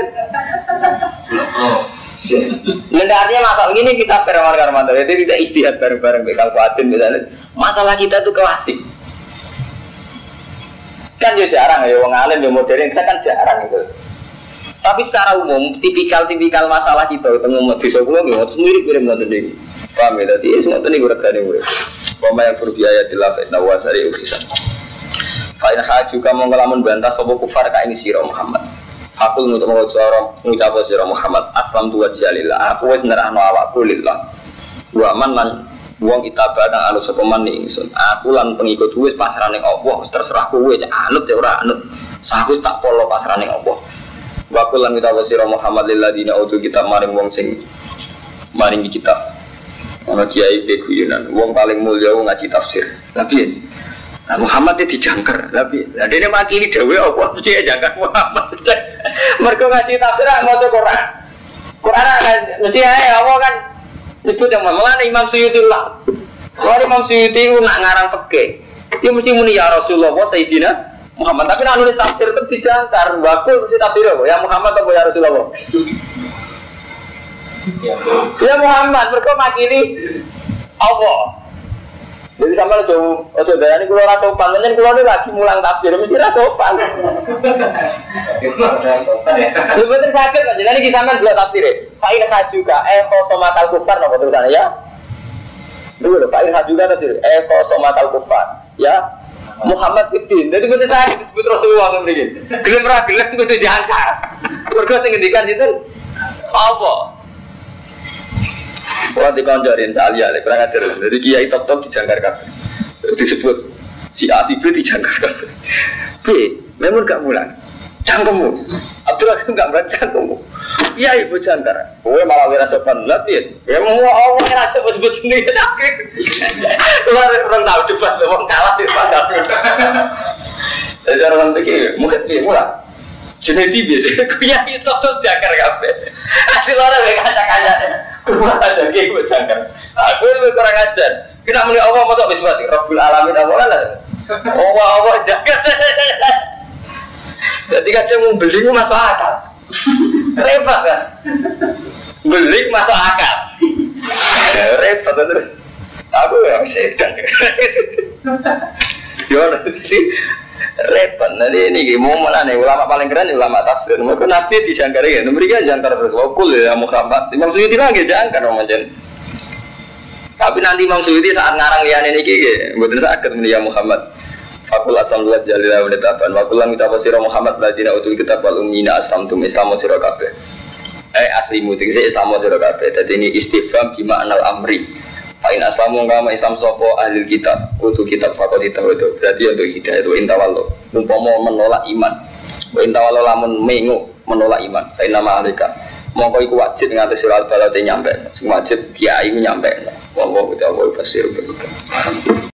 Lendarnya masalah ini kita permar-marmar, jadi tidak istihad bareng-bareng bekal kuatin misalnya. Masalah kita tuh klasik. Kan ya jarang ya wong alim ya modern kita kan jarang itu. Tapi secara umum tipikal masalah kita ketemu desa kula nggih mirip-mirip ngoten iki. Paham ya dadi semua tadi regane urip. Pama yang berbiaya dilafet nawasari usisan. Fa in hajuka mongko lamun bantah sapa kufar ka ing sira Muhammad. Aku untuk mengucap sira Muhammad aslam tu wajhalillah. Aku wis nerahno awakku lillah. Wa man lan wong itabah nang anu sapa man ingsun. Aku lan pengikut wis pasrah ning Allah, terserah kowe cek anut ya ora anut. Saku tak polo pasrah ning Allah. Wa kullan kita wasira Muhammad lil ladina utul kitab maring wong sing maringi kitab. Ana kiai beguyunan, wong paling mulya wong ngaji tafsir. Tapi Muhammad itu dijangkar. Tapi dene makili dhewe apa mesti jangkar Muhammad. Mergo ngaji tafsir maca Quran. Quran kan mesti ae apa kan itu yang malah Imam Suyuti lah. Kalau Imam Suyuti nak ngarang fikih, dia mesti muni ya Rasulullah Sayyidina Muhammad. Tapi nak nulis tafsir itu dijangkar. Bakul mesti tafsir apa? Ya Muhammad atau ya Rasulullah? Ya Muhammad. Mereka makili Allah. Jadi sama lo ojo dayani kulo ora sopan, nyen kulo lagi mulang tafsir mesti ora sopan. Lha bener sakit kan jenenge iki sampean delok tafsire. Fa'il hajuka khosomatal kufar napa tulisane ya? Dulu lho fa'il hajuka tafsir khosomatal kufar. Ya Muhammad Fiddin. Jadi bener sakit disebut Rasulullah ngene iki. Gelem ra gelem kudu jangkar. Mergo sing ngendikan itu apa? Wah dikonjorin salia, kurang ajar. Jadi kiai top dijangkar kabeh. Disebut si A si B dijangkar kabeh. B, memang gak mulang. Cangkemmu. Abdul Rahim gak mulang cangkemmu. Iya ibu jangkar. Kowe malah wira sopan lapin. Ya mau Allah ora sebut sendiri akhir. Orang tahu debat wong kalah di padang. Jadi orang iki mungkin dia mulang. Jeneti biasa, kiai top jangkar kabeh. Asli ora wek kaca-kaca. Kurang ajar kiai gue jangkar. Aku lebih kurang ajar. Kita muni Allah masuk bismati. Rabbul alamin Allah lah. Allah jangkar. Jadi kadang mau beli masuk akal. Repot kan? Beli masuk akal. Repot terus. Aku yang setan. Yo nanti repot. Nanti ini mau mana nih ulama paling keren ulama tafsir. Mereka nabi dijangkar ya. Mereka jangkar terus. Wakul ya Muhammad. Imam Suyuti lagi jangkar macam. Tapi nanti Imam Suyuti saat ngarang liane ini gini, betul sakit media Muhammad. Fakul asam dua jalila menetapan. Fakulan kita pasirah Muhammad ladina utul kitab wal ummina aslamtum islamu sirah kabeh. Aslimu tinggi islamu sirah kabeh. Jadi ini istifham bima anal amri. Fa'in aslamu ngama islam sopo ahli kitab utul kitab fakul itu. Berarti untuk hidayah itu intawallo. Umpama menolak iman. Intawallo lamun mengu menolak iman. Fa'in nama alika. Mongko iku wajib ngatus surat balate nyampe. Sing wajib kiai nyampe. Wallahu ta'ala basir.